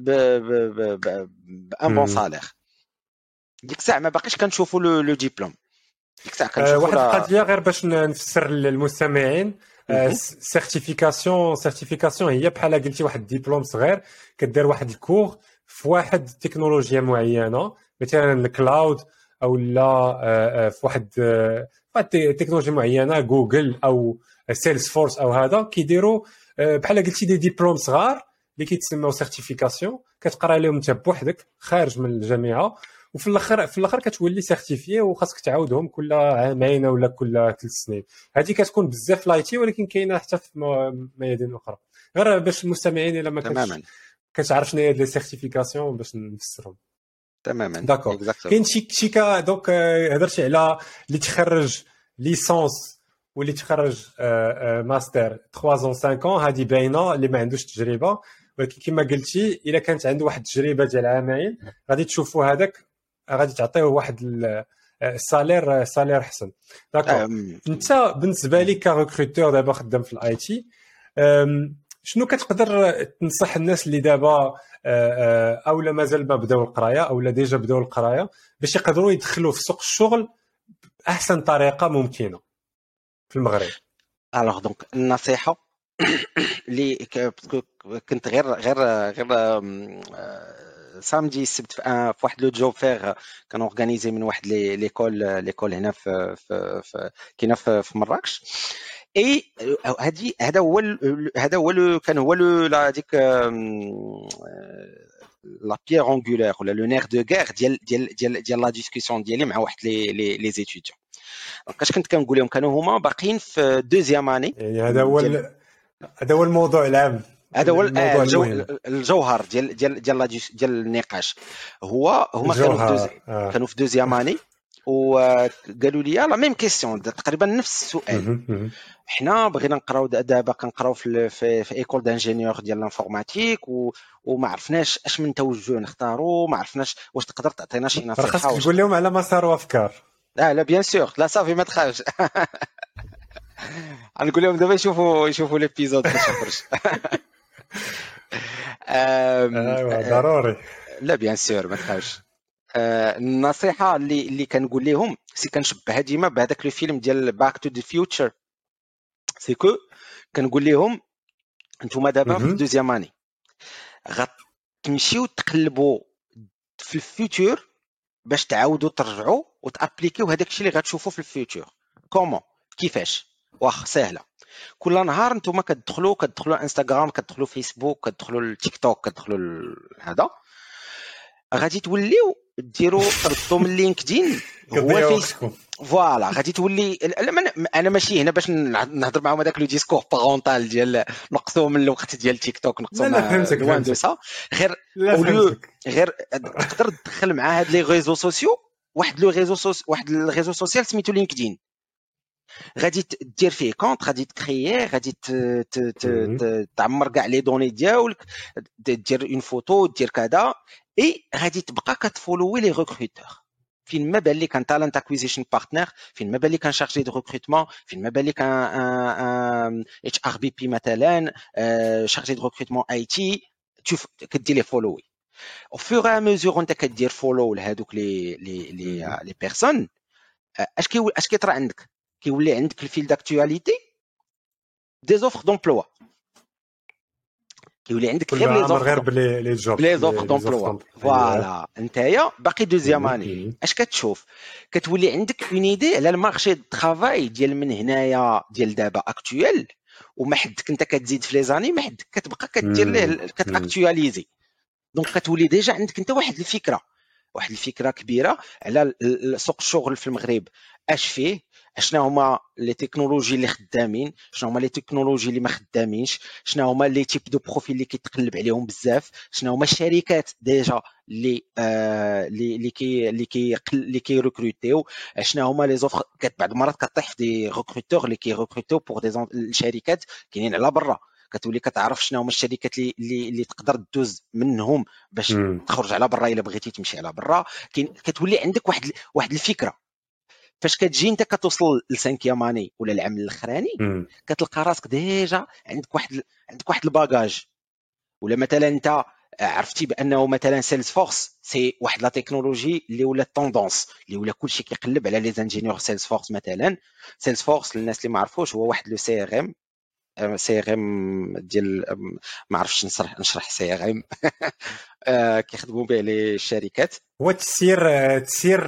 بان بون سالير. ديك الساعه ما باقيش كنشوفوا لو ديبلوم. ديك الساعه كنشوفوا واحد القضيه غير باش نفسر للمستمعين. سيرتيفيكاسيون سيرتيفيكاسيون هي بحال قلتي واحد ديبلوم صغير كدير واحد الكور في واحد التكنولوجيا معينه، مثلا الكلاود او لا في واحد واحد تكنولوجيا معينه، جوجل او سيلز فورس او هذا كيديروا بحال قلتي دي ديبلوم صغار اللي كيتسموا سيرتيفيكاسيون، كتقرا لهم انت بوحدك خارج من الجامعه، وفي الاخر في الاخر كتولي سيرتيفيي وخاصك تعاودهم كل عامين ولا كل ثلاث سنين. هذه كتكون بزاف لايتي ولكن كاينه حتى في ميادين اخرى. غير باش المستمعين الا ما كانش كتعرف شنو هي لي سيرتيفيكاسيون باش نفسرهم تماما. داكور. كاين شي شي كا دونك هضرتي على اللي تخرج ليسونس واللي تخرج ماستر ثلاثة ans خمسة ans، هذه باينه اللي ما عندوش تجربه، ولكن كما قلتي الا كانت عنده واحد التجربه ديال عامين غادي تشوفوا هذاك غادي تعطيه واحد السالير سالير احسن. داكور. انت بالنسبه لي كريكروتور دابا خدام في الاي تي، شنو كتقدر تنصح الناس اللي دابا اولا مازال ما بداو القرايه اولا ديجا بداو القرايه باش يقدروا يدخلوا في سوق الشغل باحسن طريقه ممكنه في المغرب؟ الوغ دونك النصيحه اللي كنت غير غير غير سامدي السبت في واحد لو جوب فير كان اورغانيزي من واحد لي ليكول ليكول هنا في في كاينه في مراكش. اي هذه هذا هو هذا هو كان هو هذيك لا بيير انغولير ولا لو نير دو غير ديال ديال ديال ديال لا ديسكوسيون ديالي مع واحد لي لي لي زيتيديون. دونك كنت كنقول لهم كانوا هما باقيين في دوزيام اني. يعني هذا هو هذا هو الموضوع العام، هذا هو الجو الجوهر ديال ديال ديال ديال النقاش. هو هما كانوا في دوز... آه. كانوا في دوزيام اني وقالوا لي لا ميم كيسيون تقريبا نفس السؤال. حنا بغينا نقراو دابا كنقراو في في, في ايكول دانجينيور ديال لانفورماتيك و... وما عرفناش اش من توجه نختاروا، ما عرفناش واش تقدر تعطينا شي نصيحه. خاصك تقول لهم على مسار وافكار. لا لا بيان سور، لا صافي ما تخافش. غنقول لهم دابا يشوفوا يشوفوا ليبيزود باش يخرج. ايوا ضروري. لا بيان سور ما تخافش. النصيحه اللي اللي كنقول لهم سي كنشبهها ديما بهذاك لو فيلم ديال باك تو ذا فيوتشر. سي كو كنقول لهم نتوما دابا في دوزيام اني غتمشيو تقلبوا في الفيوتشر باش تعاودوا ترجعوا وتابليكيو هذاك الشيء اللي غتشوفوا في الفيوتشر. كومون كيفاش؟ واخ سهله. كل نهار نتوما كتدخلوا كتدخلوا انستغرام، كتدخلوا فيسبوك، كتدخلوا التيك كتدخلوا هذا، غادي توليو ديروا تردوا من لينكدين هو فيسبوك. فوالا غادي تولي انا ماشي هنا باش نهضر معاهم هذاك لو ديسكور بارونتال ديال نقصوا من الوقت ديال تيك توك، نقصوا من دوسا غير غير تقدر تدخل مع هاد لي ريزو سوسيو. واحد لو ريزو سوس واحد الريزو سوسيال سميتو لينكدين، غادي دير فيه كونط، غادي تكرييه، غادي تعمر كاع لي دوني ديالك، دير اون فوتو، دير كذا، اي غادي تبقى كتفولوي لي ريكروتور. فين ما بان لك ان تالنت اكويزيشن بارتنر، فين ما بان لك ان شارجي دو ريكروتمون، فين ما بان لك ان اتش ار بي بي مثلا، شارجي دو ريكروتمون اي تي، تشوف كدير لي فولوي او فور ا ميزور انت كدير فولو لهادوك لي لي لي لي بيرسون. اش كي اش كيطرا عندك؟ كيولي عندك الفيل داكتواليتي دي زوفر دومبلوا، كيولي عندك غير لي زوفر غير بلي جوب لي زوفر دومبلوا. فوالا نتايا باقي دوزيام اني اش كتشوف؟ كتولي عندك اون ايدي على المارشي دو طرافاي ديال من هنايا ديال دابا اكطويل، وما حدك انت كتزيد في لي زاني، ما حدك كتبقى كدير ليه كتاكطواليزي. دونك كتولي ديجا عندك انت واحد الفكره واحد الفكره كبيره على سوق الشغل في المغرب، اش فيه، شنو هما لي تكنولوجي اللي خدامين، شنو هما لي تكنولوجي اللي ما خدامينش، شنو هما لي تيب دو بروفيل اللي كيتقلب عليهم بزاف، شنو هما الشركات ديجا اللي آه اللي اللي كي اللي كي اللي كي ريكروتيو، شنو هما لي زوفر. بعض المرات كطيح في دي ريكروتور اللي كي ريكروتيو بور دي الشركات كاينين على برا، كتولي كتعرف شنو هما الشركات اللي اللي, اللي تقدر تدوز منهم باش مم. تخرج على برا الا بغيتي تمشي على برا. كاين كتولي عندك واحد واحد الفكره. فاش كتجي انت كتوصل للسانكيام اني ولا العام الاخراني مم. كتلقى راسك ديجا عندك واحد عندك واحد الباجاج. ولا مثلا انت عرفتي بانه مثلا سيلز فورس سي واحد لا تكنولوجي اللي ولا طوندونس اللي ولا كلشي كيقلب على لي انجينيور سيلز فورس. مثلا سيلز فورس للناس اللي ما عرفوش هو واحد لو سي ار ام سي ار ام ديال ما عرفتش نشرح نشرح سي ار ام كيخدموا به لي الشركات. هو تسير تسير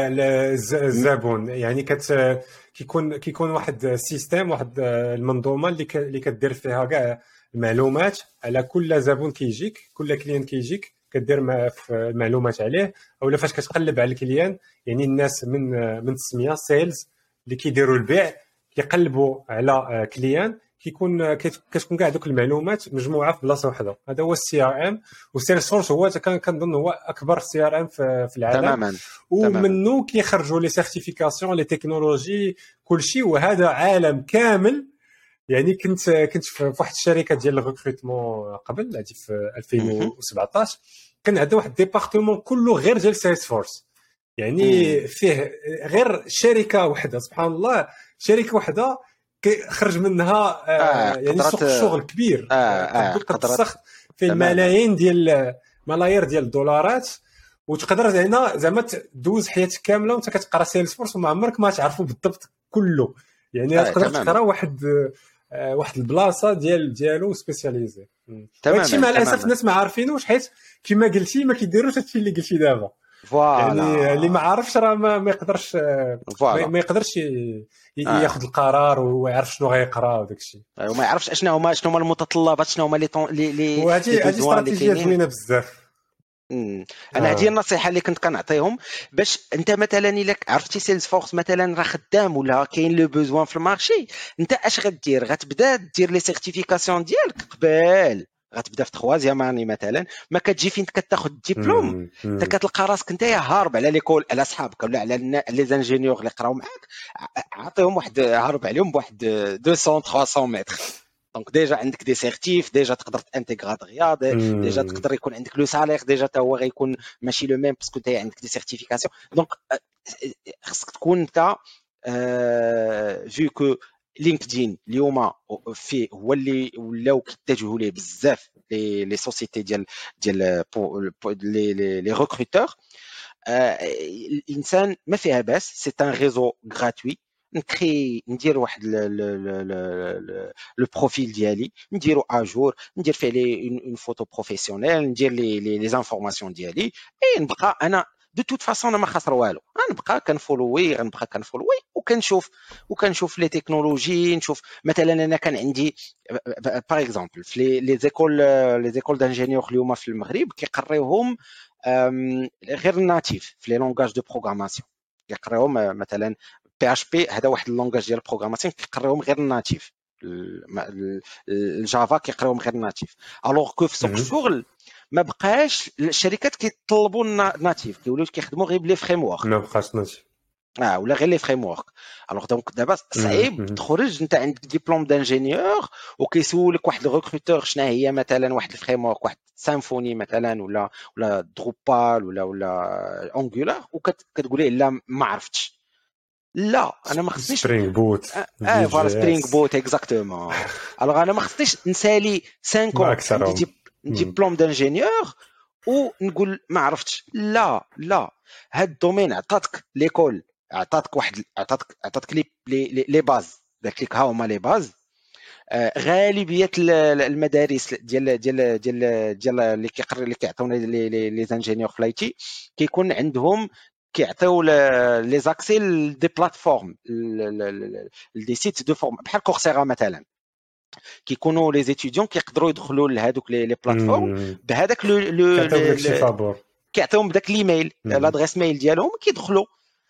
للزبون، يعني كت كيكون كيكون واحد السيستم، واحد المنظومه اللي ك... اللي كدير فيها كاع المعلومات على كل زبون كيجيك، كل كليان كيجيك كدير ما في المعلومات عليه. اولا فاش كتقلب على الكليان، يعني الناس من من التسميه سيلز اللي كيديروا البيع كيقلبوا على كليان، كيكون كتكون كاع دوك المعلومات مجموعه في بلاصه واحده. هذا هو السي ار ام. والسيلز فورس هو كنظن هو اكبر سي ار ام في العالم. تماما. ومنه كيخرجوا لي سيرتيفيكاسيون لي تكنولوجي كلشي. وهذا عالم كامل. يعني كنت كنت في واحد الشركه ديال الريكروتمون قبل هذه في ألفين وسبعطاش، كان عندنا واحد ديبارتمون كله غير ديال سيلز فورس. يعني فيه غير شركه واحده، سبحان الله، شركه واحده خرج منها آه يعني سوق الشغل كبير. آه قد تسخ في الملايين ديال ملايير ديال الدولارات، وتقدر زعما زعما تدوز حياتك كامله وانت كتقرا سيلز فورس وما عمرك ما تعرفوا بالضبط كله. يعني آه تقدر تقرا واحد آه واحد البلاصه ديال ديالو سبيسياليزي. هادشي مع الاسف الناس ما عارفينوش، حيت كما قلتي ما كيديروش هادشي اللي قلتي دابا. يعني اللي ما عارفش راه ما, ما يقدرش ما, ما يقدرش ي... ياخذ آه. القرار ويعرف شنو غيقرا وداك الشيء، وما يعرفش اشنو هما شنو هما المتطلبات، شنو هما لي لي وهذه هذه استراتيجيه زوينه بزاف. انا هذه آه. النصيحه اللي كنت كنعطيهم باش انت مثلا الا عرفتي سيلز فورس مثلا راه خدام ولا كاين لو بوزوان في المارشي، انت اش غدير؟ غتبدا دير لي سيرتيفيكاسيون ديالك قبل، غتبدا في تخوازيام اني مثلا، ما كتجي فين كتاخذ الدبلوم انت كتلقى راسك انت هارب على ليكول على صحابك ولا على لي زانجينيور اللي قراو معاك، عطيهم واحد هارب عليهم بواحد مئتين ثلاثمية متر. دونك ديجا عندك دي سيرتيف، ديجا تقدر تانتيغرا دغيا، ديجا تقدر يكون عندك لو سالير ديجا تا هو غيكون ماشي لو ميم باسكو انت عندك دي سيرتيفيكاسيون. دونك خصك تكون انت فيو كو لينكدين اليوم فيه هو اللي ولاو كيتجهوا ليه بزاف لي لي سوسيتي ديال ديال لي لي لي ريكروتور. الانسان ما فيها باس، سي ان ريزو غراتوي، نكري ندير واحد لو بروفيل ديالي نديرو اجور، ندير فيه لي اون فوتو بروفيسيونيل، ندير لي لي زانفورماسيون ديالي، اي نبقى انا دو توت فاصون انا ما خسر والو، غنبقى كنفولوي غنبقى كنفولوي وكنشوف وكنشوف لي تكنولوجي. نشوف مثلا انا كان عندي باغ اكزومبل في لي زيكول لي زيكول دانجينيور اليوم في المغرب كيقريوهم غير الناتيف في لي لونغاج دو بروغراماسيون، كيقريوهم مثلا بي اش بي، هذا واحد اللونغاج ديال البروغراماسيون كيقريوهم غير الناتيف، الجافا كيقريوهم غير الناتيف. الوغ كو في سوق الشغل ما بقاش الشركات كيطلبوا الناتيف، كيوليو كيخدموا غير بلي فريم ورك، ما بقاش ناتيف اه ولا غير لي فريم ورك. الوغ دونك دابا صعيب تخرج انت عندك ديبلوم دانجينيور وكيسولك واحد الريكروتور شنو هي مثلا واحد الفريم ورك، واحد سامفوني مثلا ولا ولا دروبال ولا ولا انجولار، وكتقول ليه لا ما عرفتش. لا انا ما خصنيش سبرينغ بوت اه فوالا سبرينغ بوت اكزاكتومون. الوغ انا ما خصنيش نسالي خمسة عندي ديبلوم دانجينيور ونقول ما عرفتش. لا لا هاد الدومين عطاتك ليكول، عطاتك واحد عطاتك عطاتك لي لي لي باز، داك لك ها هما لي باز. آه غالبيه المدارس ديال ديال ديال ديال اللي كيقري اللي كيعطيونا لي لي لي انجينيور في لايتي كيكون عندهم كيعطيو لي زاكسي دي بلاتفورم دي سيت دو فورم بحال كورسيرا مثلا، كيكونوا لي زيتيديون كيقدروا يدخلوا لهذوك لي لي بلاتفورم بهذاك لو لو كيعطيوهم بداك الايميل، لادريس ميل ديالهم كيدخلوا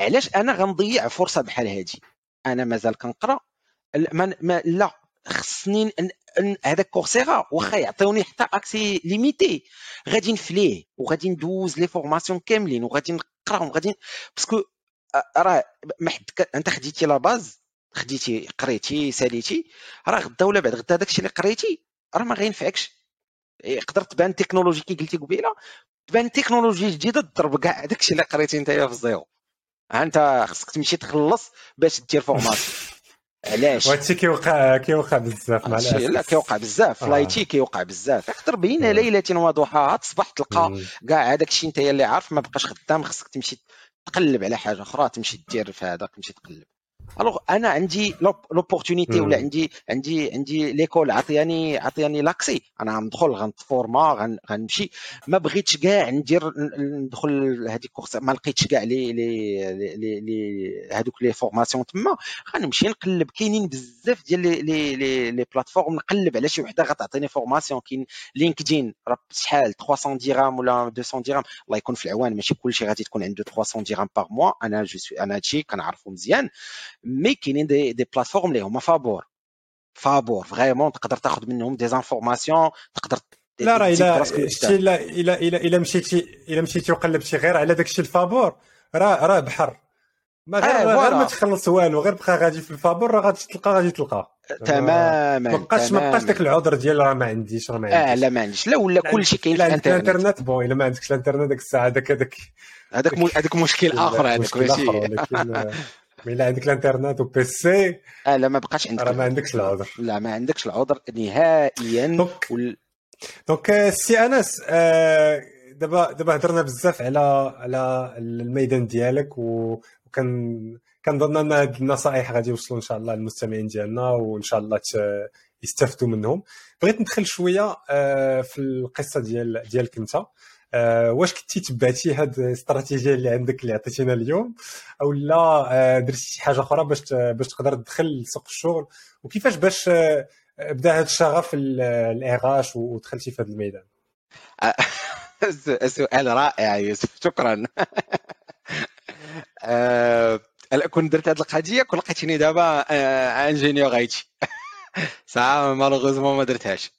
علاش انا غنضيع فرصه بحال هادي؟ انا مازال كنقرا ما, ما لا خصني هذاك كورسيرا واخا يعطيوني حتى اكسي ليميتي غادي نفليه وغادي ندوز لي فورماسيون كاملين وغادي نقرا وغادي باسكو راه ما حد انت خديتي لا باز خديتي قريتي ساليتي راه غدا ولا بعد غدا داكشي اللي قريتي راه ما غينفعكش. يقدر تبان تكنولوجي كي قلتي قبيله تبان تكنولوجي جديده تضرب كاع داكشي اللي قريتي نتايا في الزيرو. انت خصك تمشي تخلص باش دير فورماسيون. علاش وهادشي كيوقع كيوقع بزاف مع الاسف. لا كيوقع بزاف فلايتي كيوقع بزاف. يقدر بين ليله وضحاها تصبح تلقى كاع هذاك الشيء نتايا اللي عارف ما بقاش خدام. خصك تمشي تقلب على حاجه اخرى تمشي دير في هذا تمشي تقلب. الوغ انا عندي لوبورتونيتي ولا عندي عندي عندي ليكول عطياني عطياني لاكسي انا غندخل غنتفورما غنمشي. ما بغيتش كاع ندير ندخل هذيك كورس ما لقيتش كاع لي لي لي هذوك لي فورماسيون تما غنمشي نقلب. كاينين بزاف ديال لي لي لي بلاتفورم نقلب على شي وحده غتعطيني فورماسيون. كاين لينكدين راه شحال ثلاثمية درهم ولا مئتين درهم الله يكون في العوان. ماشي كلشي غادي تكون عنده ثلاثمية درهم باغ موا. انا جو انا هادشي كنعرفو مزيان. مي كاينين دي دي بلاتفورم اللي هما فابور فابور فريمون تقدر تاخذ منهم دي انفورماسيون تقدر. لا راه الا شتي الا الا الا مشيتي الا مشيتي وقلبتي غير على داكشي الفابور راه راه بحر ما غير آه غير ما تخلص والو غير بقى غادي في الفابور راه غادي تلقى غادي تلقى تماما. ما بقاش ما بقاش داك العذر ديال راه ما عنديش راه ما عنديش. اه لا ما عنديش لا ولا كلشي كاين في الانترنت. الانترنت بون الا ما عندكش الانترنت داك الساعه هذاك هذاك هذاك هذاك مشكل اخر هذاك ماشي. ولكن مي لا عندك الانترنت وبيسي اه لا ما بقاش عندك راه ما عندكش العذر. لا ما عندكش العذر نهائيا. وال... دونك سي انس دابا دابا هضرنا بزاف على على الميدان ديالك وكان كنظن ان هاد النصائح غادي يوصلوا ان شاء الله للمستمعين ديالنا وان شاء الله يستافدوا منهم. بغيت ندخل شويه في القصه ديال ديالك انت. أه واش كنتي تبعتي هاد الاستراتيجيه اللي عندك اللي عطيتينا اليوم او لا درتي شي حاجه اخرى باش باش تقدر تدخل لسوق الشغل وكيفاش باش بدا هذا الشغف الاغاش ودخلتي في هذا الميدان؟ سؤال رائع يوسف شكرا. أه كنت درت هذه القضيه كون لقيتيني دابا انجينيور ايتي ساعه مالوغوزمون ما درتهاش.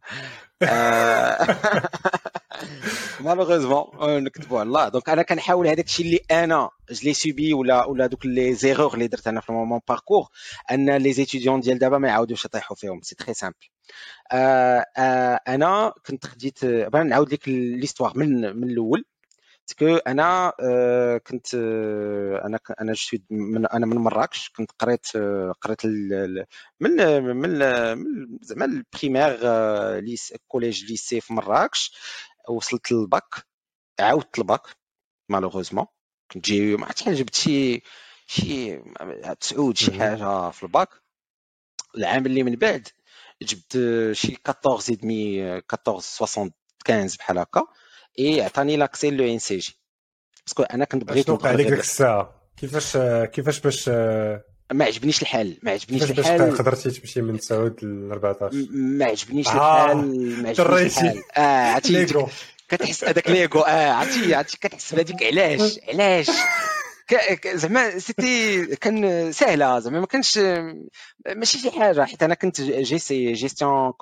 مالوغوزمون نكتبوا على الله. دونك انا كنحاول هذاك الشيء اللي انا جلي سوبي ولا ولا دوك لي زيغور اللي درت انا في المومون باركور ان لي زيتيديون ديال دابا ما يعاودوش يطيحوا فيهم. سي تري سامبل. آه آه انا كنت خديت بغا نعاود لك ليستوار من من الاول. باسكو انا آه كنت آه انا انا جو من انا من مراكش. كنت قريت آه قريت من من زعما البريمير آه ليس كوليج ليسي في مراكش. وصلت للباك عاودت الباك مالوغوزمون كنت جاي ما عرفتش جبت شي شي تسعود شي حاجه في الباك. العام اللي من بعد جبت شي أربعطاش دمي أربعطاش خمسة وستين بحال هكا. اي عطاني لاكسي لو ان سي جي باسكو انا كنت بغيت نوقع عليك ديك الساعه. كيفاش كيفاش باش ما عجبنيش الحال ما عجبنيش الحال باش قدرتي تمشي من تسعود ل أربعطاش ما عجبنيش الحال ما عجبنيش الحال. اه عرفتي كتحس هذاك ليغو اه عرفتي عرفتي كتحس بهذيك علاش علاش زعما سيتي كان سهله زعما ما كانش ماشي شي حاجه. حيت انا كنت جي سي جيستيون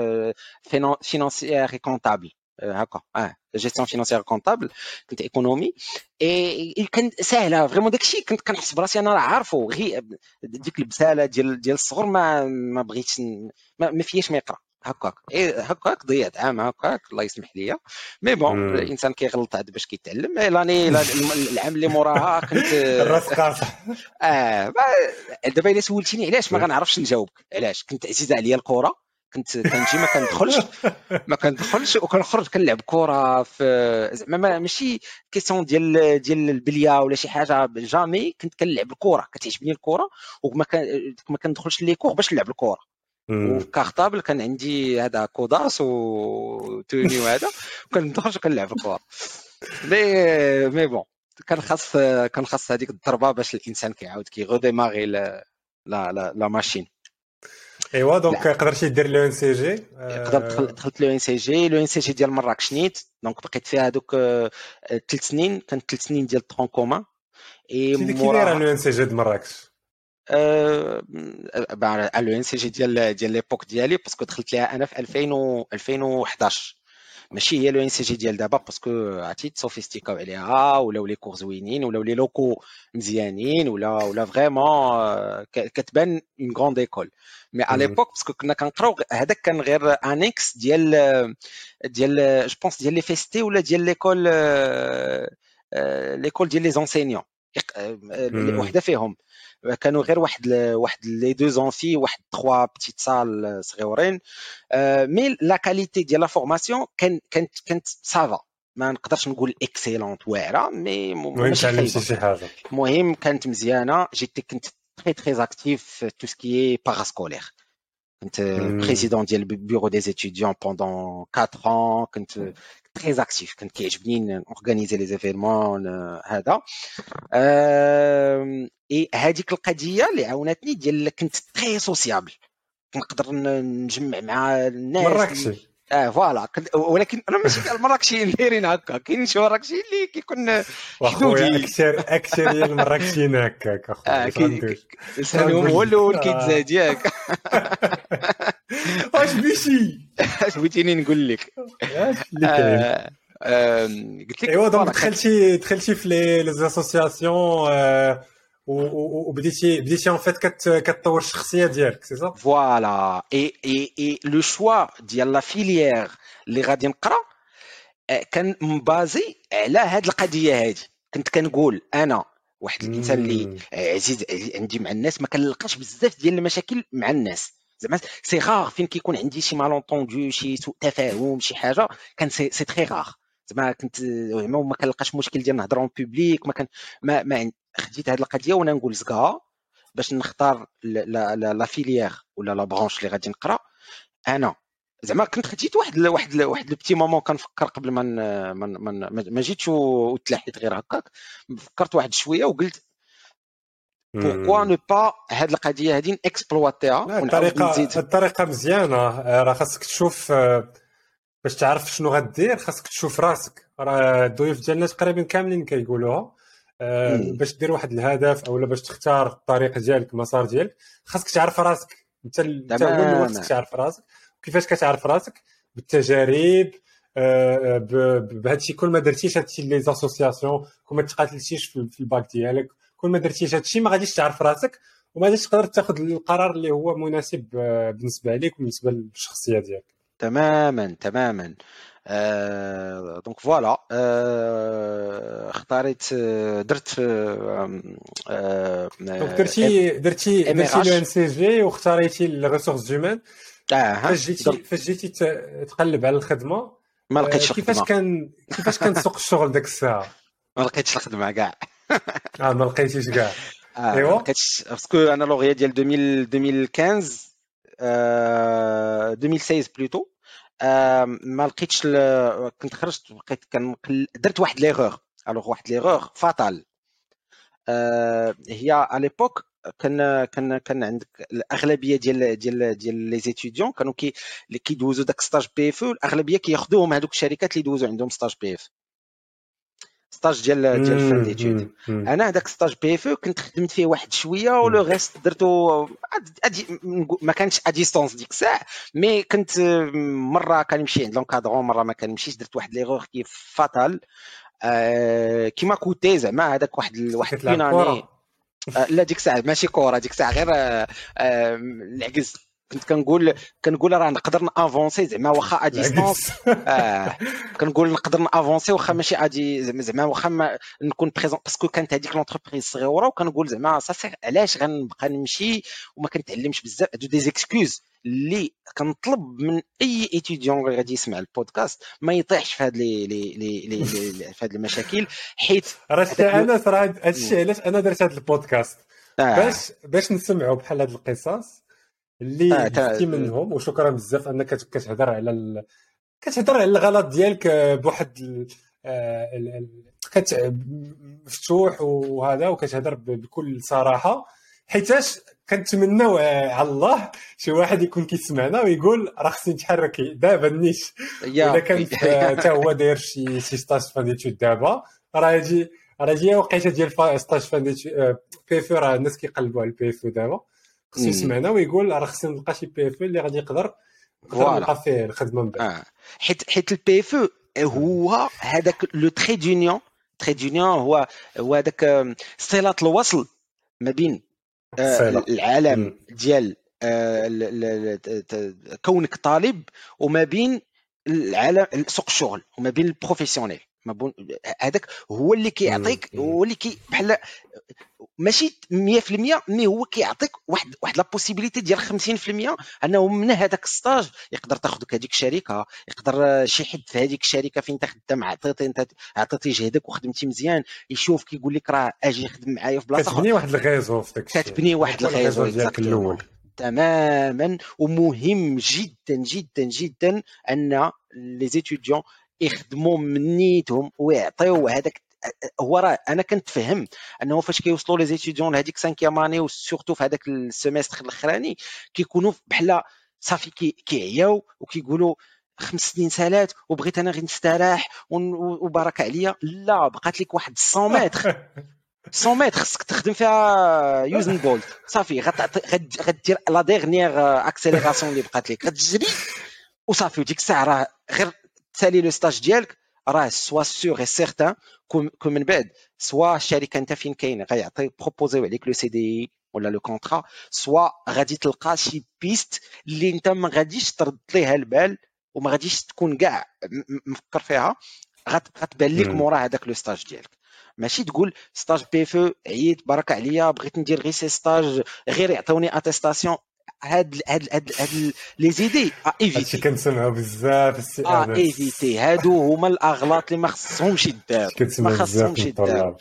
فينانسيير كونطابل هكا اه جيستيون فينانسيير كونطابل كنت ايكونومي. اي كان سهله فريمون داكشي كنت كنحس براسي انا راه عارفو غير ديك البساله ديال ديال الصغر ما ما بغيتش ما, ما فياش ما يقرا هكاك. ايه هكاك ضيعت عام هكاك الله يسمح لي. مي بون الانسان كيغلط عاد باش كيتعلم. لاني العام اللي موراها كنت الراس قاصح. اه دابا الا سولتيني علاش ما غنعرفش نجاوبك. علاش كنت عزيزه عليا الكره كنت كنجي ما كندخلش ما كندخلش وكنخرج كنلعب كره في زعما ماشي كيسيون ديال ديال البليه ولا شي حاجه. جامي كنت كنلعب الكره كتعجبني الكره وما ما كندخلش لي كور باش نلعب الكره. وفي كارطابل كان عندي هذا كوداس وتوني وهذا وكندخل كنلعب الكره. مي مي بون كان خاص كان خاص هذيك الضربه باش الانسان كيعاود كيغوديماري لا لا لا ماشين. ايوا دونك قدرتي دير لو ان سي جي. قدرت دخلت لو ان سي جي لو ان سي جي ديال مراكش نيت. دونك بقيت فيها هذوك ثلاث سنين. كانت ثلاث سنين ديال طرون كومان اي شي كي داير لو ان سي جي د مراكش. أه... لو ان سي جي ديال ديال ليبوك ديالي باسكو دخلت ليها انا في ألفين و ألفين وحداش، ماشي هي لو ان سي جي ديال دابا باسكو عرفتي تصوفيستيكاو عليها ولاو لي كور زوينين ولاو لي لوكو مزيانين ولا ولا فريمون كتبان اون غروند ايكول. مي على ليبوك باسكو كنا كنقراو هذاك كان غير انيكس ديال ديال جو بونس ديال لي فيستي ولا ديال ليكول ليكول ديال لي زونسينيون وحده فيهم كانوا غير واحد واحد لي دو زونفي واحد ثلاثة بتيت سال صغيورين. مي لا كاليتي ديال لا فورماسيون كان كانت كانت سافا، ما نقدرش نقول اكسيلونت واعره مي ماشي خايبه، شي حاجه المهم كانت مزيانه. جيت كنت تري تري اكتيف في تو سكي باراسكولير، كنت بريزيدون ديال البيرو دي ستوديون بوندون quatre ans، كنت تري اكتيف، كنت كيعجبني اورغانيزي لي زيفينمون هذا. اي هذيك القضيه اللي عاونتني ديال كنت تري سوسيابل، كنقدر نجمع مع الناس مراكشي اه فوالا. ولكن انا ماشي المراكشي اللي دايرين هكا، كاين شي مراكشي اللي كيكون حدودي اكثر اكثر ديال المراكشيين هكاك اخويا. سالهم هو الاول كيتزاد ياك. واش بيشي اش بغيتيني نقول لك؟ اش اللي كاين؟ قلت لك ايوا دونك دخلتي دخلتي في لي لي اسوسياسيون وبديتي بديتي ان فيت كتطور الشخصيه ديالك، سي صا؟ فوالا. اي اي اي لو شوا ديال لا فيليير اللي غادي نقرا كان مبازي على هاد القضيه هادي. كنت كنقول انا واحد الانسان اللي عزيز عندي مع الناس، ما كنلقاش بزاف ديال المشاكل مع الناس، زعما سي غار فين كيكون عندي شي مالونطوندو شي سوء تفاهم شي حاجه، كان سي سي تري غار. زعما كنت زعما ما كنلقاش مشكل ديال نهضروا بوبليك، ما كان ما, ما خديت هاد القضيه وانا نقول زكا باش نختار لا لا لا فيليير ولا لا برانش اللي غادي نقرا. انا زعما كنت خديت واحد واحد واحد البتي مومون كنفكر قبل ما ما ما جيتش وتلاحيت غير هكاك، فكرت واحد شويه وقلت pourquoi ne pas هاد القضيه هادي نكسبلواتيها. الطريقه الطريقه مزيانه، راه خاصك تشوف باش تعرف شنو غدير، خاصك تشوف راسك. راه الضيوف ديالنا تقريبا كاملين كيقولوها، باش دير واحد الهدف اولا باش تختار الطريق ديالك المسار ديالك خاصك تعرف راسك انت. انت هو اللي خاصك تعرف راسك. كيفاش كتعرف راسك؟ بالتجارب، بهادشي. كل ما درتيش هادشي لي زاسوسياسيون، كل ما تقاتلتيش في الباك ديالك، كل ما درتيش هادشي ما غاديش تعرف راسك وما غاديش تقدر تاخذ القرار اللي هو مناسب بالنسبه لك وبالنسبه للشخصيه ديالك. تماما تماما. آه، دونك فوالا. آه، اختاريت درت آه، دونك درتي درتي درتي لو ان سي جي واختاريتي الريسورس هيومان. اه فاش جيتي فاش جيتي تقلب على الخدمه ما لقيتش الخدمه. كيفاش كان كيفاش كان سوق الشغل داك الساعه؟ ما لقيتش الخدمه كاع. اه ما لقيتيش كاع. آه ايوا لقيتش باسكو انا لوغيا ديال ألفين وخمسطاش آه ألفين وستة عشر بلوتو. آه ما لقيتش كنت خرجت لقيت كان درت واحد ليغور. الوغ واحد ليغور فاتال. آه هي على ليبوك كان كان كان عندك الاغلبيه ديال ديال ديال لي زيتيديون كانوا كي اللي كيدوزوا داك ستاج بي اف، الاغلبيه كياخذوهم هذوك الشركات اللي يدوزوا عندهم ستاج بي اف، ستاج ديال ديال فان ديتود. انا هذاك ستاج بي اف كنت خدمت فيه واحد شويه ولو غيست درتو ما كانش ا ديستونس ديك الساعه، مي كنت مره كنمشي عند لونكادرون مره ما كنمشيش. درت واحد ليغور كي فاتال آه كيما كوتي زعما هذاك واحد واحد بيناني. آه لا ديك الساعه ماشي كوره، ديك الساعه غير آه آه العكز. كنت كنقول كنقول راه نقدر نافونسي زعما واخا ا ديستونس. اه كنقول نقدر نافونسي واخا ماشي ادي زعما واخا نكون بريزون باسكو كانت هذيك لونتربريز صغيره، وكنقول زعما صافي علاش غنبقى نمشي وما كنتعلمش بزاف. هادو دي زيكسكوز اللي كنطلب من اي ايتيديون اللي غادي يسمع البودكاست ما يطيحش في هاد لي لي لي في هاد المشاكل، حيت راه انا صراحه هادشي علاش انا درت هاد البودكاست آه. باش باش نسمعوا بحال هاد القصص اللي جبتي منهم. وشكرا بزاف انك كتهضر على ال... كتهضر على الغلط ديالك بواحد ال... ال... كت مفتوح وهذا، وكتهضر بكل صراحه، حيتاش كنتمناو على الله شي واحد يكون كيسمعنا ويقول راه خصني نتحرك دابا نيش، ولا كان حتى هو داير شي شي ستاج فاديتو دابا راه يجي راه جايه وقيته ديال ستاج فان بي اف راه الناس كيقلبوا على البي اف دابا خصو يسمعنا ويقول راه خصني نلقى شي بي اف اللي غادي يقدر نقدر نلقى فيه الخدمه من بعد. اه حيت حيت البي اف هو هذاك لو تري دونيون تري دونيون هو هو هذاك صله الوصل ما بين العالم ديال كونك طالب وما بين العالم سوق الشغل وما بين البروفيسيونيل. هذاك هو اللي كيعطيك هو اللي كي بحال ماشي مية في المية مي هو كيعطيك واحد واحد لا بوسيبيليتي ديال خمسين في المية انه من هذاك الستاج يقدر تاخذك هذيك الشركه، يقدر شي حد في هذيك الشركه فين انت خدام عطيتي انت عطيتي جهدك وخدمتي مزيان يشوف كيقول لك راه اجي خدم معايا في بلاصه كتبني واحد الغيزو في داك الشيء، كتبني واحد الغيزو ديالك الاول تماما. ومهم جدا جدا جدا ان لي زيتيديون يخدموا من نيتهم ويعطيو هذاك. هو راه انا كنت فهم انه فاش كيوصلوا لي زيتيديون لهذيك خمسة اني وسورتو في هذاك السيمستر الاخراني كيكونوا بحال صافي كيعياو وكيقولوا خمس سنين سالات وبغيت انا غير نستراح وبارك عليا. لا بقات لك واحد مية متر مية متر خصك تخدم فيها يوزن بولت صافي غدير لا ديرنيير اكسيليراسيون اللي بقات لك غتجري وصافي. وديك الساعه راه غير تسالي لو ستاج ديالك راه سوا سور اي سيغتان كو من بعد سوا الشركه انت فين كاين غيعطي بروبوزيو عليك لو سي دي ولا لو كونطرا، سوا غادي تلقى شي بيست اللي انت ما غاديش ترد ليها البال وما غاديش تكون كاع مفكر فيها غتبان لك مورا هذاك لو ستاج ديالك. ماشي تقول ستاج بي اف عييت بارك عليا بغيت ندير غير سي ستاج غير يعطوني اتيستاسيون. هاد هاد هاد هاد لي زيدي ايفيتي هادشي كنسمعوا بزاف السي اه ايفيتي هادو هما الاغلاط اللي ما خصهمش يداروا ما خصهمش يداروا.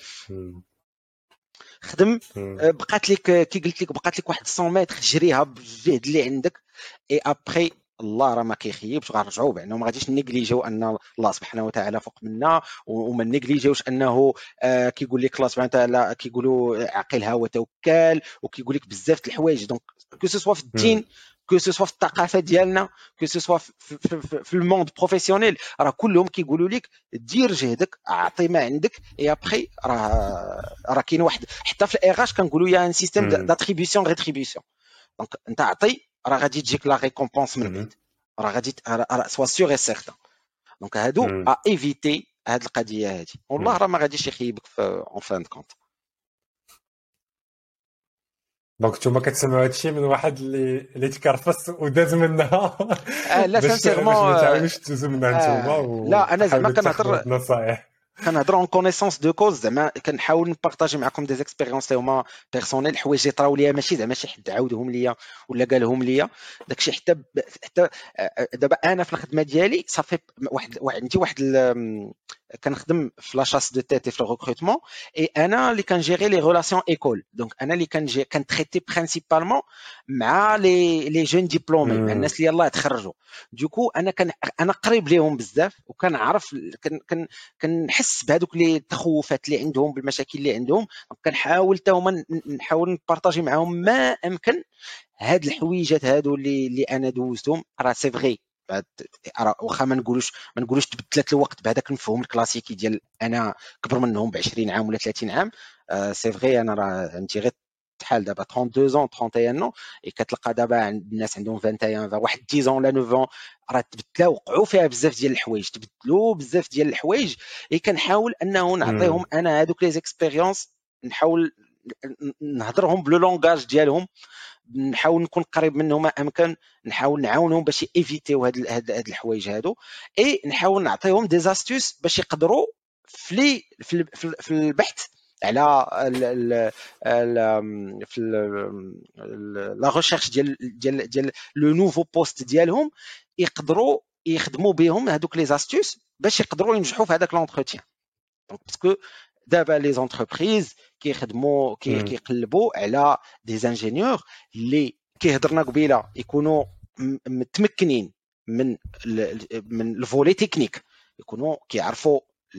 خدم بقات لك كي قلت لك بقات لك واحد مية متر جريها بالجهد اللي عندك اي ابري الله راه ما كيخيبش غنرجعوا بانه ما غاديش نيجليجيو ان الله سبحانه وتعالى فوق منا وما نيجليجيوش انه آه كيقول لك الله سبحانه وتعالى كيقولوا عقلها وتوكل وكيقول لك بزاف د الحوايج. دونك كو سو في الدين كو سو في الثقافه ديالنا كو سو في, في, في, في الموند بروفيسيونيل راه كلهم كيقولوا لك دير جهدك اعطي ما عندك اي ابري راه راه كاين واحد حتى في الايغاش كنقولوا يا ان سيستيم داتريبيسيون ريتريبيسيون. دونك انت عطي راه غادي تجيك لا ريكومبونس من بعد راه غادي سوا سيغ اي سيغتان. دونك هادو ا ايفيتي هاد القضيه هادي والله راه ما غاديش يخيبك في اون فان كونت. دونك نتوما كتسمعوا هادشي من واحد اللي اللي تكرفس وداز منها آه لا سانسيرمون ما تعاونوش تدوزوا منها نتوما آه لا انا زعما كنهضر نصائح كنهضر اون كونيسونس دو كوز زعما كنحاول نبارطاجي معكم دي زيكسبيريونس اللي هما بيرسونيل حوايج اللي طراو ليا ماشي زعما شي حد عاودهم ليا ولا قالهم ليا داكشي حتى حتى دابا انا في الخدمه ديالي صافي واحد عندي واحد كنخدم في لاشاس دو تيت في الريكروتمون اي انا اللي كنجيري لي ريلاسيون ايكول. دونك انا اللي كنجي كنتريتي برينسيبالمون مع لي لي جون ديبلومي مع الناس اللي يلاه تخرجوا. دوكو انا كان انا قريب ليهم بزاف وكنعرف كن كنحس بهذوك لي التخوفات اللي عندهم بالمشاكل اللي عندهم. كنحاول حتى هما نحاول نبارطاجي معاهم ما امكن هاد الحويجات هادو اللي اللي انا دوزتهم. راه سي فغي واخا ما نقولوش ما نقولوش تبدلت الوقت بهذاك المفهوم الكلاسيكي ديال انا كبر منهم ب عشرين عام ولا ثلاثين عام. آه سي فغي انا راه عندي غير شحال دابا اثنين وثلاثين عام ثلاثة وثلاثين نو اي كتلقى دابا عند الناس عندهم واحد وعشرين واحد عشرة ولا تسعة راه تبدلوا وقعوا فيها بزاف ديال الحوايج تبدلوا بزاف ديال الحوايج. اي كنحاول انه نعطيهم انا هذوك لي زيكسبيريونس نحاول نهضرهم بلو لونغاج ديالهم نحاول نكون قريب منهم ما امكن نحاول نعاونهم باش ايفيتيو هاد هاد هاد الحوايج هادو اي نحاول نعطيهم دي زاستوس باش يقدروا في في البحث على ال ال ال في لا ريشيرش ديال ديال ديال لو نوفو بوست ديالهم يقدروا يخدموا بهم هذوك لي زاستوس باش يقدروا ينجحوا في هذاك لونتروتيان. دونك باسكو دابا لي زونتربريز كيخدموا كيقلبوا على دي زانجينيور اللي كيهضرنا قبيله يكونوا متمكنين من من الفولي تكنيك يكونوا كيعرفوا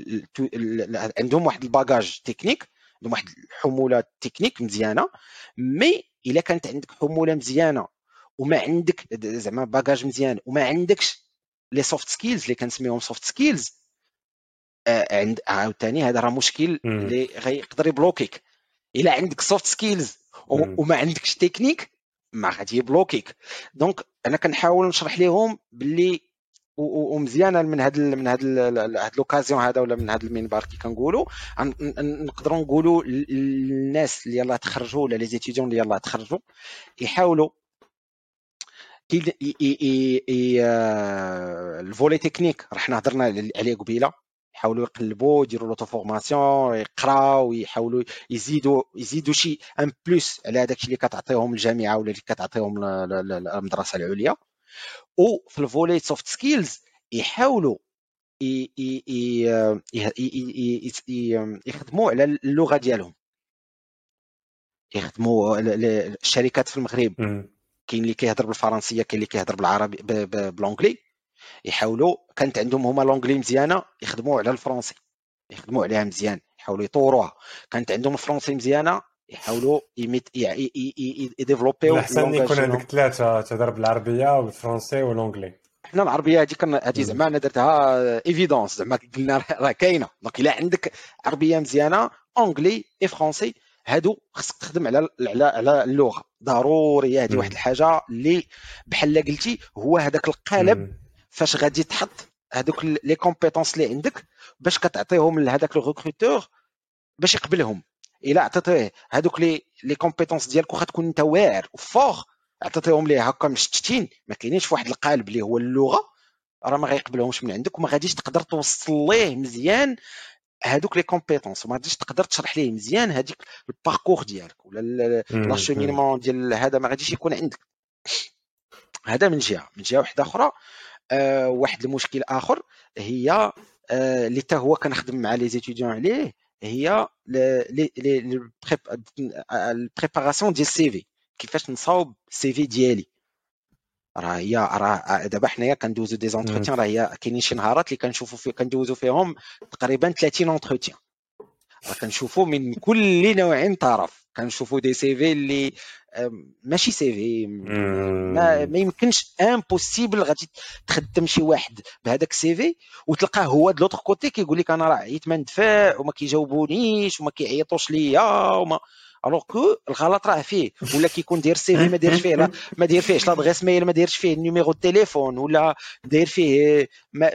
عندهم واحد الباجاج تكنيك عندهم واحد الحموله تكنيك مزيانه. مي الا كانت عندك حموله مزيانه وما عندك زعما باجاج مزيان وما عندكش لي سوفت سكيلز اللي كنسميهم سوفت سكيلز آه عند عاوتاني هذا راه مشكل اللي غيقدر يبلوكيك. الا عندك سوفت سكيلز وما عندكش تكنيك ما غادي يبلوكيك. دونك انا كنحاول نشرح لهم باللي ومزيانه من هاد من هاد هاد لوكازيون هذا ولا من هاد المنبر كي كنقولوا نقدروا نقولوا للناس اللي يلاه تخرجوا ولا لي زيتيديون اللي يلاه تخرجوا يحاولوا كي الفولي تكنيك راه حنا هضرنا عليه قبيله، يحاولوا يقلبوا يديروا لوطو فورماسيون يقراو ويحاولوا يزيدوا يزيدوا شي ان بلس على داكشي اللي كتعطيهم الجامعه ولا اللي كتعطيهم المدرسه العليا. وفي الفولي سوفت سكيلز يحاولوا يخدموا على اللغه ديالهم، يخدموا الشركات في المغرب كاين اللي كيهضر بالفرنسيه كاين اللي كيهضر بالعربي بالانجلي، يحاولوا كانت عندهم هما لونجلي مزيانه يخدموا على الفرنسي يخدموا عليها مزيان يحاولوا يطوروها، كانت عندهم الفرنسي مزيانه يحاولوا يديفلوبيو احسن يكون عندك ثلاثه تهضر بالعربيه والفرنسي والانجلي. حنا العربيه هذه كان هذه زعما انا درتها ايفيدونس زعما قلنا راه كاينه. دونك الا عندك عربيه مزيانه انجلي اي فرنسي هادو خصك تخدم على على على اللغه ضروري. هذه واحد الحاجه اللي بحال قلتي هو هذاك القالب فاش غادي تحط هذوك لي كومبيتونس اللي عندك باش كتعطيهم لهذاك الريكروتور باش يقبلهم. الا عطيتيه هذوك لي لي كومبيتونس ديالك واخا تكون انت واعر وفوغ عطيتيهم ليه هكا مشتتين ما كاينينش فواحد القالب اللي هو اللغه راه ما غيقبلهمش من عندك وما غاديش تقدر توصل ليه مزيان هذوك لي كومبيتونس وما غاديش تقدر تشرح ليه مزيان هذيك الباركور ديالك ولا لا شومينمون ديال هذا ما غاديش يكون عندك. هذا من جهه. من جهه واحده اخرى أه واحد المشكل اخر هي أه اللي حتى هو كنخدم مع لي زيتيديون عليه هي لي لي البريباراسيون ديال السي في. كيفاش نصاوب السي في ديالي راه هي راه دابا حنايا كندوزو دي زونتروتيان راه هي كاينين شي نهارات اللي كنشوفوا فيه كندوزو فيهم تقريبا ثلاثين اونتروتيان راه كنشوفوا من كل نوع طرف. كنشوفوا دي سي في اللي ماشي سي في ما, ما يمكنش امبوسيبل غادي تخدم شي واحد بهذاك السي في وتلقاه هو د لوطر كوتي كيقول لك انا راه عييت ما ندفع وما كيجاوبونيش وما كيعيطوش ليا وما الوغ كو الغلط راه فيه. ولا كيكون داير السي في ما دايرش فيه لا ما داير فيهش لادغيس ميل ما دايرش فيه النيميرو التليفون ولا داير فيه ما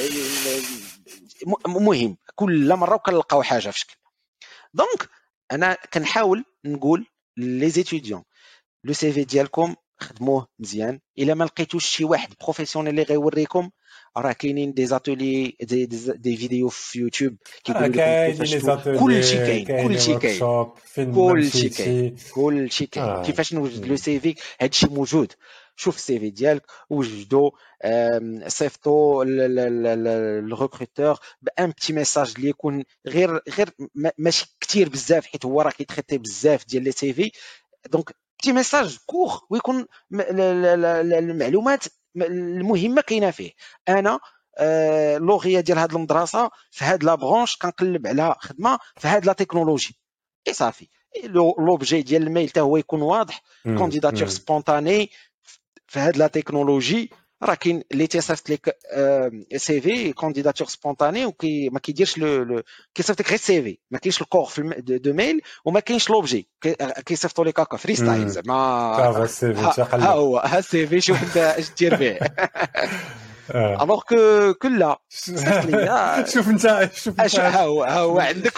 مهم كل مره وكنلقاو حاجه في شكل. دونك انا كنحاول نقول لي زيتيديون لو سي في ديالكم خدموه مزيان. الا ما لقيتوش شي واحد بروفيسيونيل اللي غيوريكم راه كاينين دي زاتولي دي, دي, دي فيديو في يوتيوب كيقولوا لكم كيفاش كلشي كاين كلشي كاين كلشي كاين كلشي كاين كيفاش نوجد لو سي في. هادشي موجود. شوف السي في ديالك وجدو صيفطو للريكروتور بان بتي ميساج اللي يكون غير غير ماشي كثير بزاف حيت هو راه كيتريتي بزاف ديال لي سي في. دونك بتي ميساج كور ويكون المعلومات المهمه كاينه فيه. انا آه لوغيه ديال هاد المدرسه في هاد لا برونش كنقلب على خدمه في هاد لا تكنولوجي اي صافي. لوبجي ديال الميل حتى هو يكون واضح كانديداتور سبونطاني في هاد لا تكنولوجي. راه كاين اللي تيصيفط لك سي في كانديداتور سبونطاني وكي ما كيديرش لو كيصيفط لك غير سي في ما كاينش الكور في دو ميل وما كاينش لوبجي كيصيفطوا لك هكا فري ستايل زعما ها هو ها السي في شوف انت اش دير به. الوغ كو كلها صيفط لي شوف انت شوف انت ها هو ها هو عندك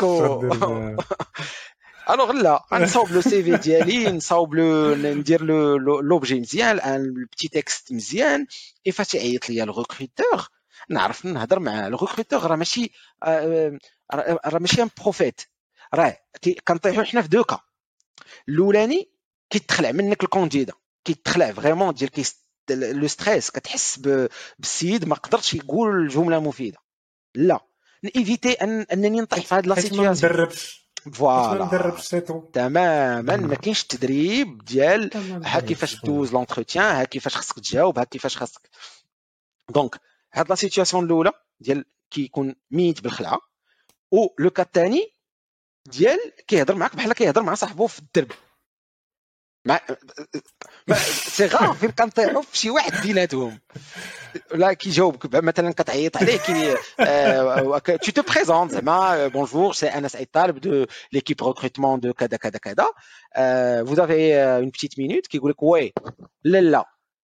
الوغ لا نصاوب لو سي في ديالي نصاوب لو ندير لو لوبجي مزيان ان بتي تكست مزيان. اي فاش يعيط ليا الريكروتور نعرف نهضر مع الريكروتور راه ماشي راه ماشي ان بروفيت راه كنطيحوا حنا في دوكا. الاولاني كيتخلع منك الكونديدا كيتخلع فريمون ديال كي لو ستريس كتحس بالسيد ما قدرش يقول جمله مفيده. لا نيفيتي ان انني نطيح في هذه لا سيتوياسيون فوالا تماما. ما كاينش تدريب ديال ها كيفاش دوز لونتروتيان ها كيفاش خصك تجاوب ها كيفاش خصك. دونك هاد لا سيتوياسيون الاولى ديال كيكون ميت بالخلعه و لو كا الثاني ديال كيهضر معاك بحال كيهضر مع صاحبو في الدرب ما ما سي غاف فين كنطيحوا في شي واحد بيناتهم لا كيجاوبك مثلا كتعيط عليه كي tu te présentes زعما bonjour c'est Anas Aitaleb de l'équipe recrutement de كذا كذا كذا vous avez une petite minute كيقول لك وي لا لا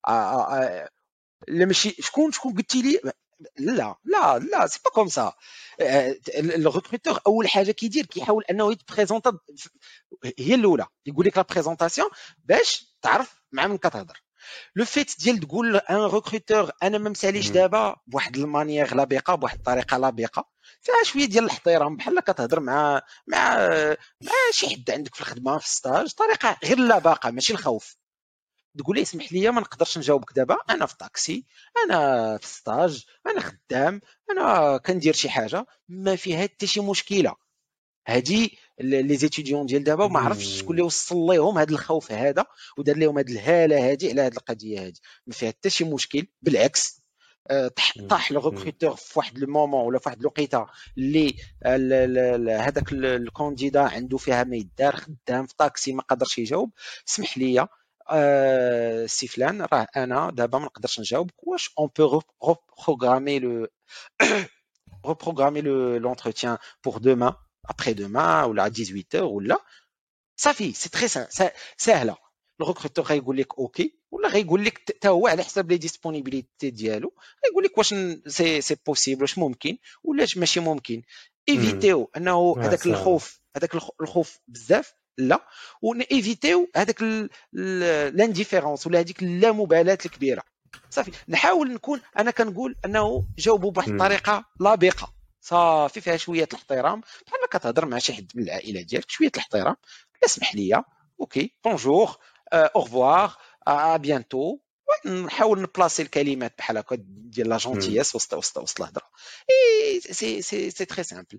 لا ماشي شكون شكون قلتي لي لا لا لا سي با كوم سا الريكروتور اول حاجه كيدير كيحاول انه يتبريزونطا هي الاولى يقول لك لا بريزونطاسيون باش تعرف مع من كتهضر لو فيت ديال تقول ان ريكروتور انا ما مساليش دابا بواحد المانيير لابقه بواحد الطريقه لابقه فيها شويه ديال الاحترام بحال كتهضر مع مع مع شي حد عندك في الخدمه في الستاج طريقه غير لابقه ماشي الخوف تقول لي اسمح لي ما نقدرش نجاوبك دابا انا في طاكسي انا في ستاج انا خدام انا كندير شي حاجه ما فيها حتى شي مشكله هادي لي زيتيديون ديال دابا وما عرفتش شكون اللي وصل لهم هذا الخوف هذا ودار لهم هذه الهاله هذه على هذه القضيه هذه ما فيها حتى شي مشكل بالعكس طاح لو ريكروتور في واحد لو مومون ولا في واحد الوقيته اللي هذاك الكانديدا عنده فيها ما يدار خدام في طاكسي ما قدرش يجاوب اسمح لي Euh, سي فلان راه انا دابا ما نقدرش نجاوبك واش اون بو reprogrammer le reprogrammer le l'entretien pour demain après demain ولا dix-huit heures ولا صافي سي تري سهله الريكروتور غيقول لك اوكي ولا غيقول لك حتى هو على حسب لي ديسپونيبيليتي ديالو غيقول لك واش سي سي بوسيبل واش ممكن ولا ماشي ممكن ايفيتيو انه هذاك الخوف هذاك الخوف بزاف لا ونيفيتيو هذاك لانديفيرونس ولا هذيك اللامبالاه الكبيره صافي نحاول نكون انا كنقول انه جاوبوا بواحد الطريقه لابقه صافي فيها شويه الاحترام بحال ما كتهضر مع شي حد من العائله ديالك شويه الاحترام اسمح لي اوكي بونجور او ريفوار ا بيانتو نحاول نبلاصي الكلمات بحال هكا ديال لا جونتياس وسط وسط وسط الهضره اي سي سي سي تري سامبل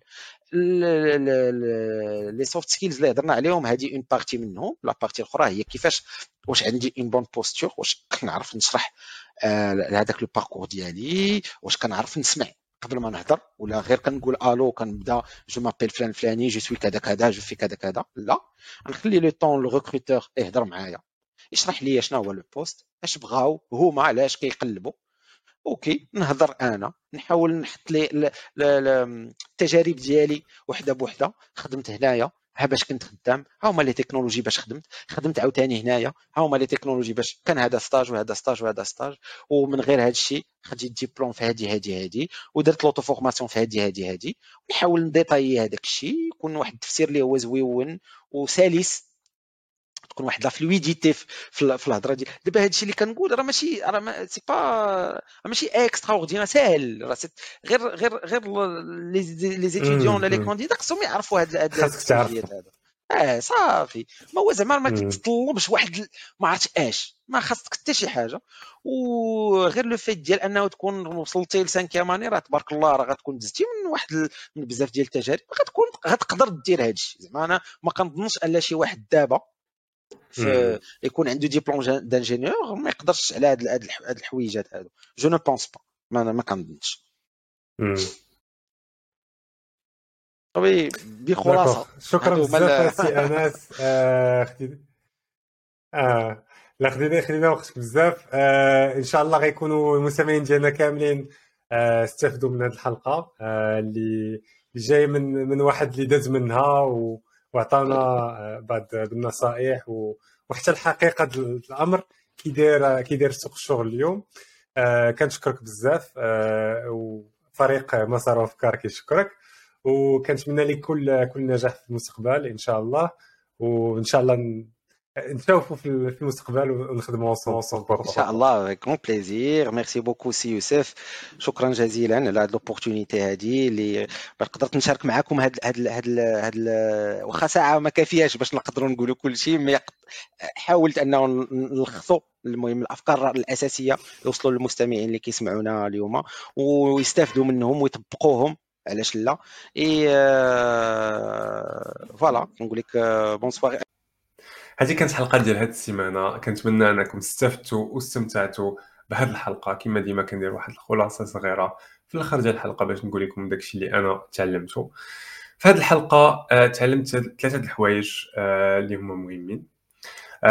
لي سوفت سكيلز اللي هضرنا عليهم هذه اون بارتي منهم لا بارتي الاخرى هي كيفاش واش عندي اون بون بوستور واش كنعرف نشرح هذاك لو باركور ديالي واش كنعرف نسمع قبل ما نهضر ولا غير كنقول الو كنبدا جو مابيل فلان فلاني جو سوي كذا كذا جو في كذا كذا لا نخلي لو طون لو ريكروتور يهضر معايا يشرح لي شنو هو لو بوست اش بغاو هما علاش كيقلبوا اوكي نهضر انا نحاول نحط لي التجارب ديالي وحده بوحده خدمت هنايا ها باش كنت خدام ها هما لي تكنولوجي باش خدمت خدمت عاوتاني هنايا ها هما لي تكنولوجي باش كان هذا ستاج وهذا ستاج وهذا ستاج ومن غير هذا الشيء خديت ديبلوم في هذه هذه هذه ودرت لوطو فورماسيون في هذه هذه هذه ونحاول نديطاي هذاك الشيء يكون واحد التفسير اللي هو زويون وسلس تكون واحد لا فلويديتي في في الهضره ديال دابا هادشي اللي كنقول راه ماشي راه ما سي با ماشي اكسترا اوردينير ساهل راه غير غير غير لي لي زيتيديون ولا لي كانديدا خصهم يعرفوا هاد هاد الحاجات هذا اه صافي ما هو زعما ما كتطلبش واحد ما عرفتش اش ما خاصك حتى شي حاجه وغير لو فيت ديال انه تكون وصلتي ل خمسة ماني راه تبارك الله راه غتكون دزتي من واحد من بزاف ديال التجارب غتكون غتقدر دير هادشي زعما انا ما كنظنش ان شي واحد دابا يكون عنده ديبلوم دانجينيور ما يقدرش على هاد هاد الحويجات هادو جو نو بونس با ما ما كنظنش وي بخلاصه شكرا بزاف سي انس خديت اه لا خدينا خدينا وقتك بزاف آه ان شاء الله غيكونوا المستمعين ديالنا كاملين آه استفدوا من هذه الحلقه آه اللي جاي من من واحد اللي داز منها و وعطانا بعض النصائح وحتى الحقيقه الامر كيدير كيدير سوق الشغل اليوم آه كنشكرك بزاف آه وفريق مسار وافكار كيشكرك وكنتمنى لك كل كل نجاح في المستقبل ان شاء الله وان شاء الله نشوفوا في المستقبل ونخدموا انصوص ان شاء الله كون بليزير ميرسي بوكو سي يوسف شكرا جزيلا على هذه لوبورتونيتي هذه اللي قدرت نشارك معكم هاد هاد هاد هاد واخا ساعه ما كافياش باش نقدروا نقولوا كل شيء مي حاولت انه نلخصوا المهم الافكار الاساسيه يوصلوا للمستمعين اللي كيسمعونا اليوم ويستافدوا منهم ويطبقوهم علاش لا اي فوالا كنقول لك بونسوار هذه كانت حلقه ديال هذه السيمانه كنتمنى انكم استفدتوا واستمتعتوا بهذه الحلقه كما ديما كندير واحد الخلاصه صغيره في الاخر ديال الحلقه باش نقول لكم داكشي اللي انا تعلمته في هذه الحلقه. آه، تعلمت ثلاثه د الحوايج آه، اللي هما مهمين. آه،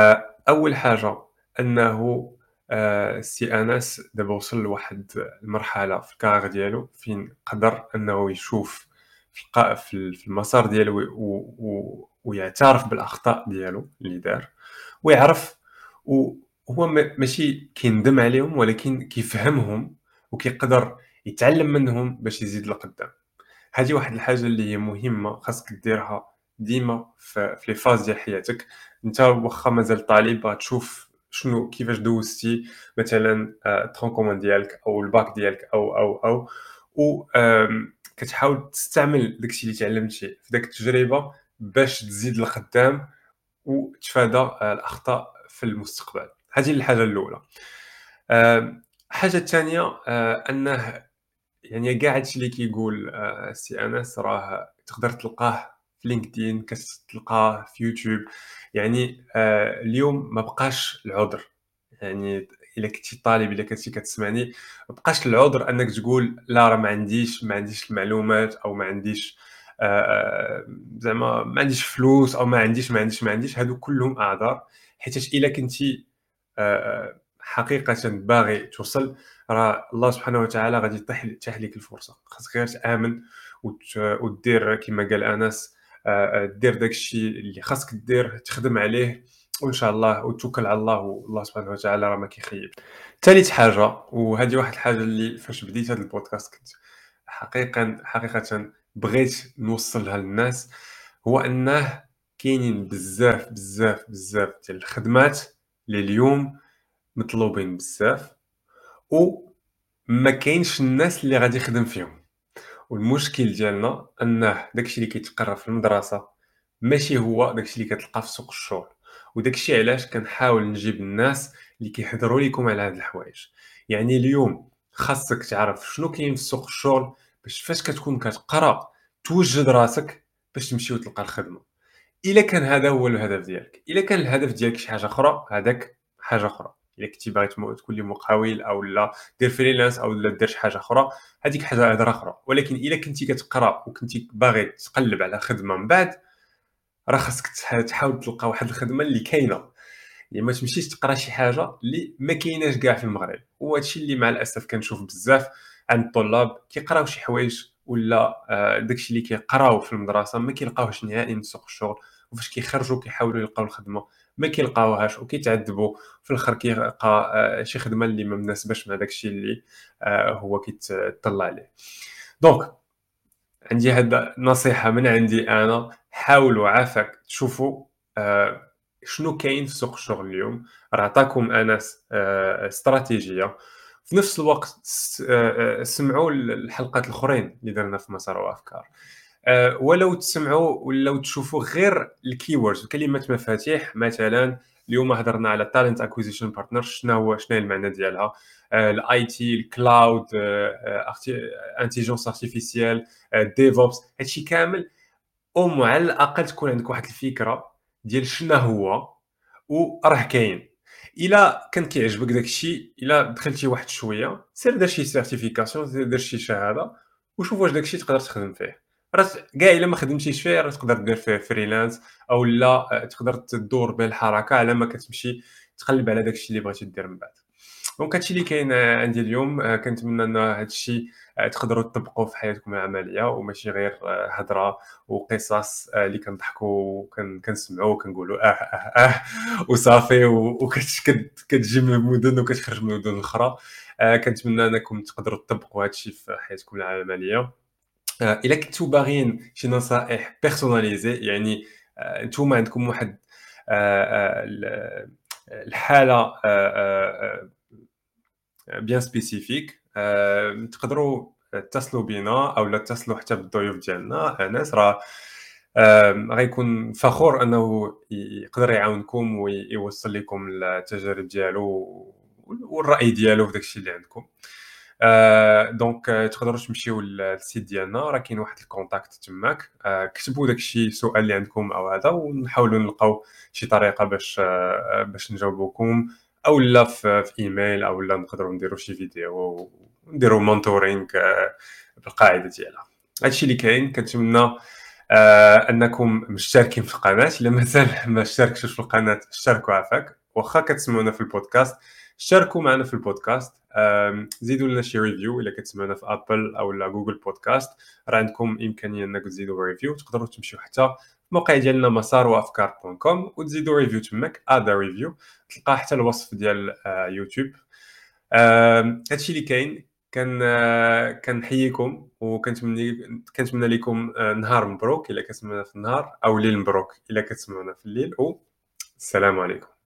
اول حاجه انه آه، سي انس دابا وصل لواحد المرحله في الكارير ديالو فين قدر انه يشوف في الق- في ال- في المسار ديالو و- و- ويعترف بالاخطاء ديالو اللي دار ويعرف، وهو ما- ماشي كيندم عليهم ولكن كيفهمهم وكيقدر يتعلم منهم باش يزيد لقدام. هذه واحد الحاجه اللي هي مهمه خاصك ديرها ديما في في لي فاز ديال حياتك. انت واخا مازال طالب غتشوف شنو كيفاش دوزتي مثلا آه، الترون كومون ديالك او الباك ديالك او او او و آم، كتحاول تستعمل داكشي اللي تعلمتي في داك التجربه باش تزيد لقدام وتفادى آه، الاخطاء في المستقبل. هذه الحاجه الاولى. آم، الحاجه الثانيه آه، انه يعني كاع هادشي اللي كيقول آه، السي انس راه تقدر تلقاه في لينكدين، كتلقاه في يوتيوب. يعني آه، اليوم ما بقاش العذر، يعني الا كنتي طالب الا كنتي كتسمعني ما بقاش العذر انك تقول لا راه ما عنديش ما عنديش المعلومات او ما عنديش آه، آه، زعما ما عنديش فلوس او ما عنديش ما عنديش ما عنديش هادو كلهم اعذار. حيت الا كنتي آه، آه، حقيقة باغي توصل، راه الله سبحانه وتعالى غادي يتيح يتيح لك الفرصة. خاصك غير تآمن وت- ودير كما قال أنس، آه، آه، دير داك الشيء اللي خاصك دير، تخدم عليه وإن شاء الله وتوكل على الله والله سبحانه وتعالى راه ما كيخيب. ثالث حاجة، وهذه واحد الحاجة اللي فاش بديت هذا البودكاست كنت حقيقة حقيقة بغيت نوصلها للناس، هو أنه كاينين بزاف بزاف بزاف ديال الخدمات اللي اليوم مطلوبين بزاف وما كاينش الناس اللي غادي يخدم فيهم. والمشكل ديالنا انه داكشي اللي كيتقرا في المدرسه ماشي هو داكشي اللي كتلقى في سوق الشغل. وداكشي علاش كنحاول نجيب الناس اللي كيهضروا لكم على هاد الحوايج. يعني اليوم خاصك تعرف شنو كاين في سوق الشغل باش فاش كتكون كتقرا توجد راسك باش تمشي وتلقى الخدمه. الا كان هذا هو الهدف ديالك، الا كان الهدف ديالك شي حاجه اخرى هذاك حاجه اخرى. الا كنتي باغي تمو- تكون لي مقاول او لا دير فريلانس او لا دير شي حاجه اخرى هذيك حاجه هضره اخرى. ولكن الا كنتي كتقرا وكنتي باغي تقلب على خدمه من بعد، راه خاصك تح- تحاول تلقى واحد الخدمه اللي كاينه. يعني ما تمشيش تقرا شي حاجه اللي ما كايناش كاع في المغرب. وهذا الشيء اللي مع الاسف كنشوف بزاف عند الطلاب كيقراو شي حوايج ولا آه، داكشي اللي كيقراو في المدرسه ما كيلقاوهش نهائيا في سوق الشغل، وفاش كيخرجوا كيحاولوا يلقاو الخدمه ما كيلقاوهاش وكيتعذبوا في الاخر كيلقى آه، شي خدمه اللي ما مناسباش مع داكشي اللي آه، هو كيتطلع عليه. دونك عندي هاد نصيحة من عندي أنا، حاولوا عافاك تشوفوا آه، شنو كاين في سوق الشغل اليوم. راه عطاكم أنس آه، استراتيجية. في نفس الوقت س- آه، آه، سمعوا الحلقات الأخرين اللي درنا في مسار وأفكار. آه، ولو تسمعوا ولو تشوفوا غير الكيوردز كلمات مفاتيح. مثلا اليوم هضرنا على تالنت اكوزيشن بارتنر، شنو هو شنو هي المعنى ديالها، الاي تي، الكلاود، انتيجنس ارتيفيسيال، ديفوبس، هادشي كامل او على الاقل تكون عندك واحد الفكره ديال شنو هو وراه كاين. الا كان كيعجبك داك الشيء، الا دخلتي واحد شويه سير دير شي سيرتيفيكاسيون، سير دير شي شهاده وشوف واش داك الشيء تقدر تخدم فيه. راه كاع الا ما خدمتيش فيه راه تقدر دير فيه فريلانس او لا آه، تقدر تدور به الحركه على ما كتمشي تقلب على داك الشيء اللي بغيتي دير من بعد. دونك هادشي اللي كاين آه، عندي اليوم. آه، كنتمنى ان هادشي آه، تقدروا تطبقوه في حياتكم العمليه وماشي غير آه، هضره وقصص آه، اللي كنضحكوا وكنسمعوا وكنقولوا اه اه اه وصافي وكتجي من المدن وكتخرج من المدن الاخرى. آه، كنتمنى انكم تقدروا تطبقوا هادشي في حياتكم العمليه. آه، الا كنتو باغيين شي نصائح بيرسوناليزي، يعني آه، نتوما عندكم واحد آه، آه، ال- الحاله آه، آه، بيان سبيسيفيك، آه، تقدروا تتصلوا بينا او لا تتصلوا حتى بالضيوف ديالنا. انس راه آه، غيكون فخور انه يقدر يعاونكم ويوصل لكم التجارب ديالو والراي ديالو في داكشي اللي عندكم. آه، دونك آه، تقدروا تمشيو للسيت ديالنا، راه كاين واحد الكونتاكت تماك. آه، كتبوا داكشي السؤال اللي عندكم او هذا ونحاولوا نلقاو شي طريقه باش آه، باش نجاوبوكم، او لا في, في ايميل او لا نقدروا نديروا شي فيديو ونديروا مونتورينغ بالقاعده ديالها. هادشي اللي كاين. كنتمنى آه انكم مشتركين في القناه. الا مازال ما اشتركتوش في القناه اشتركوا عافاك واخا كتسمعونا في البودكاست شاركوا معنا في البودكاست، زيدوا لنا شي ريفيو الا كتسمعونا في ابل او لا جوجل بودكاست، راه عندكم امكانيه انكم تزيدوا ريفيو. تقدروا تمشيو حتى الموقع ديالنا مسار وافكار دوت كوم وتزيدوا ريفيو تماك ادا ريفيو، تلقى حتى الوصف ديال يوتيوب. هادشي اللي كاين. كان كنحييكم وكنتمنى كنتمنى لكم نهار مبروك الا كتسمعونا في النهار، او ليل مبروك الا كتسمعونا في الليل، والسلام عليكم.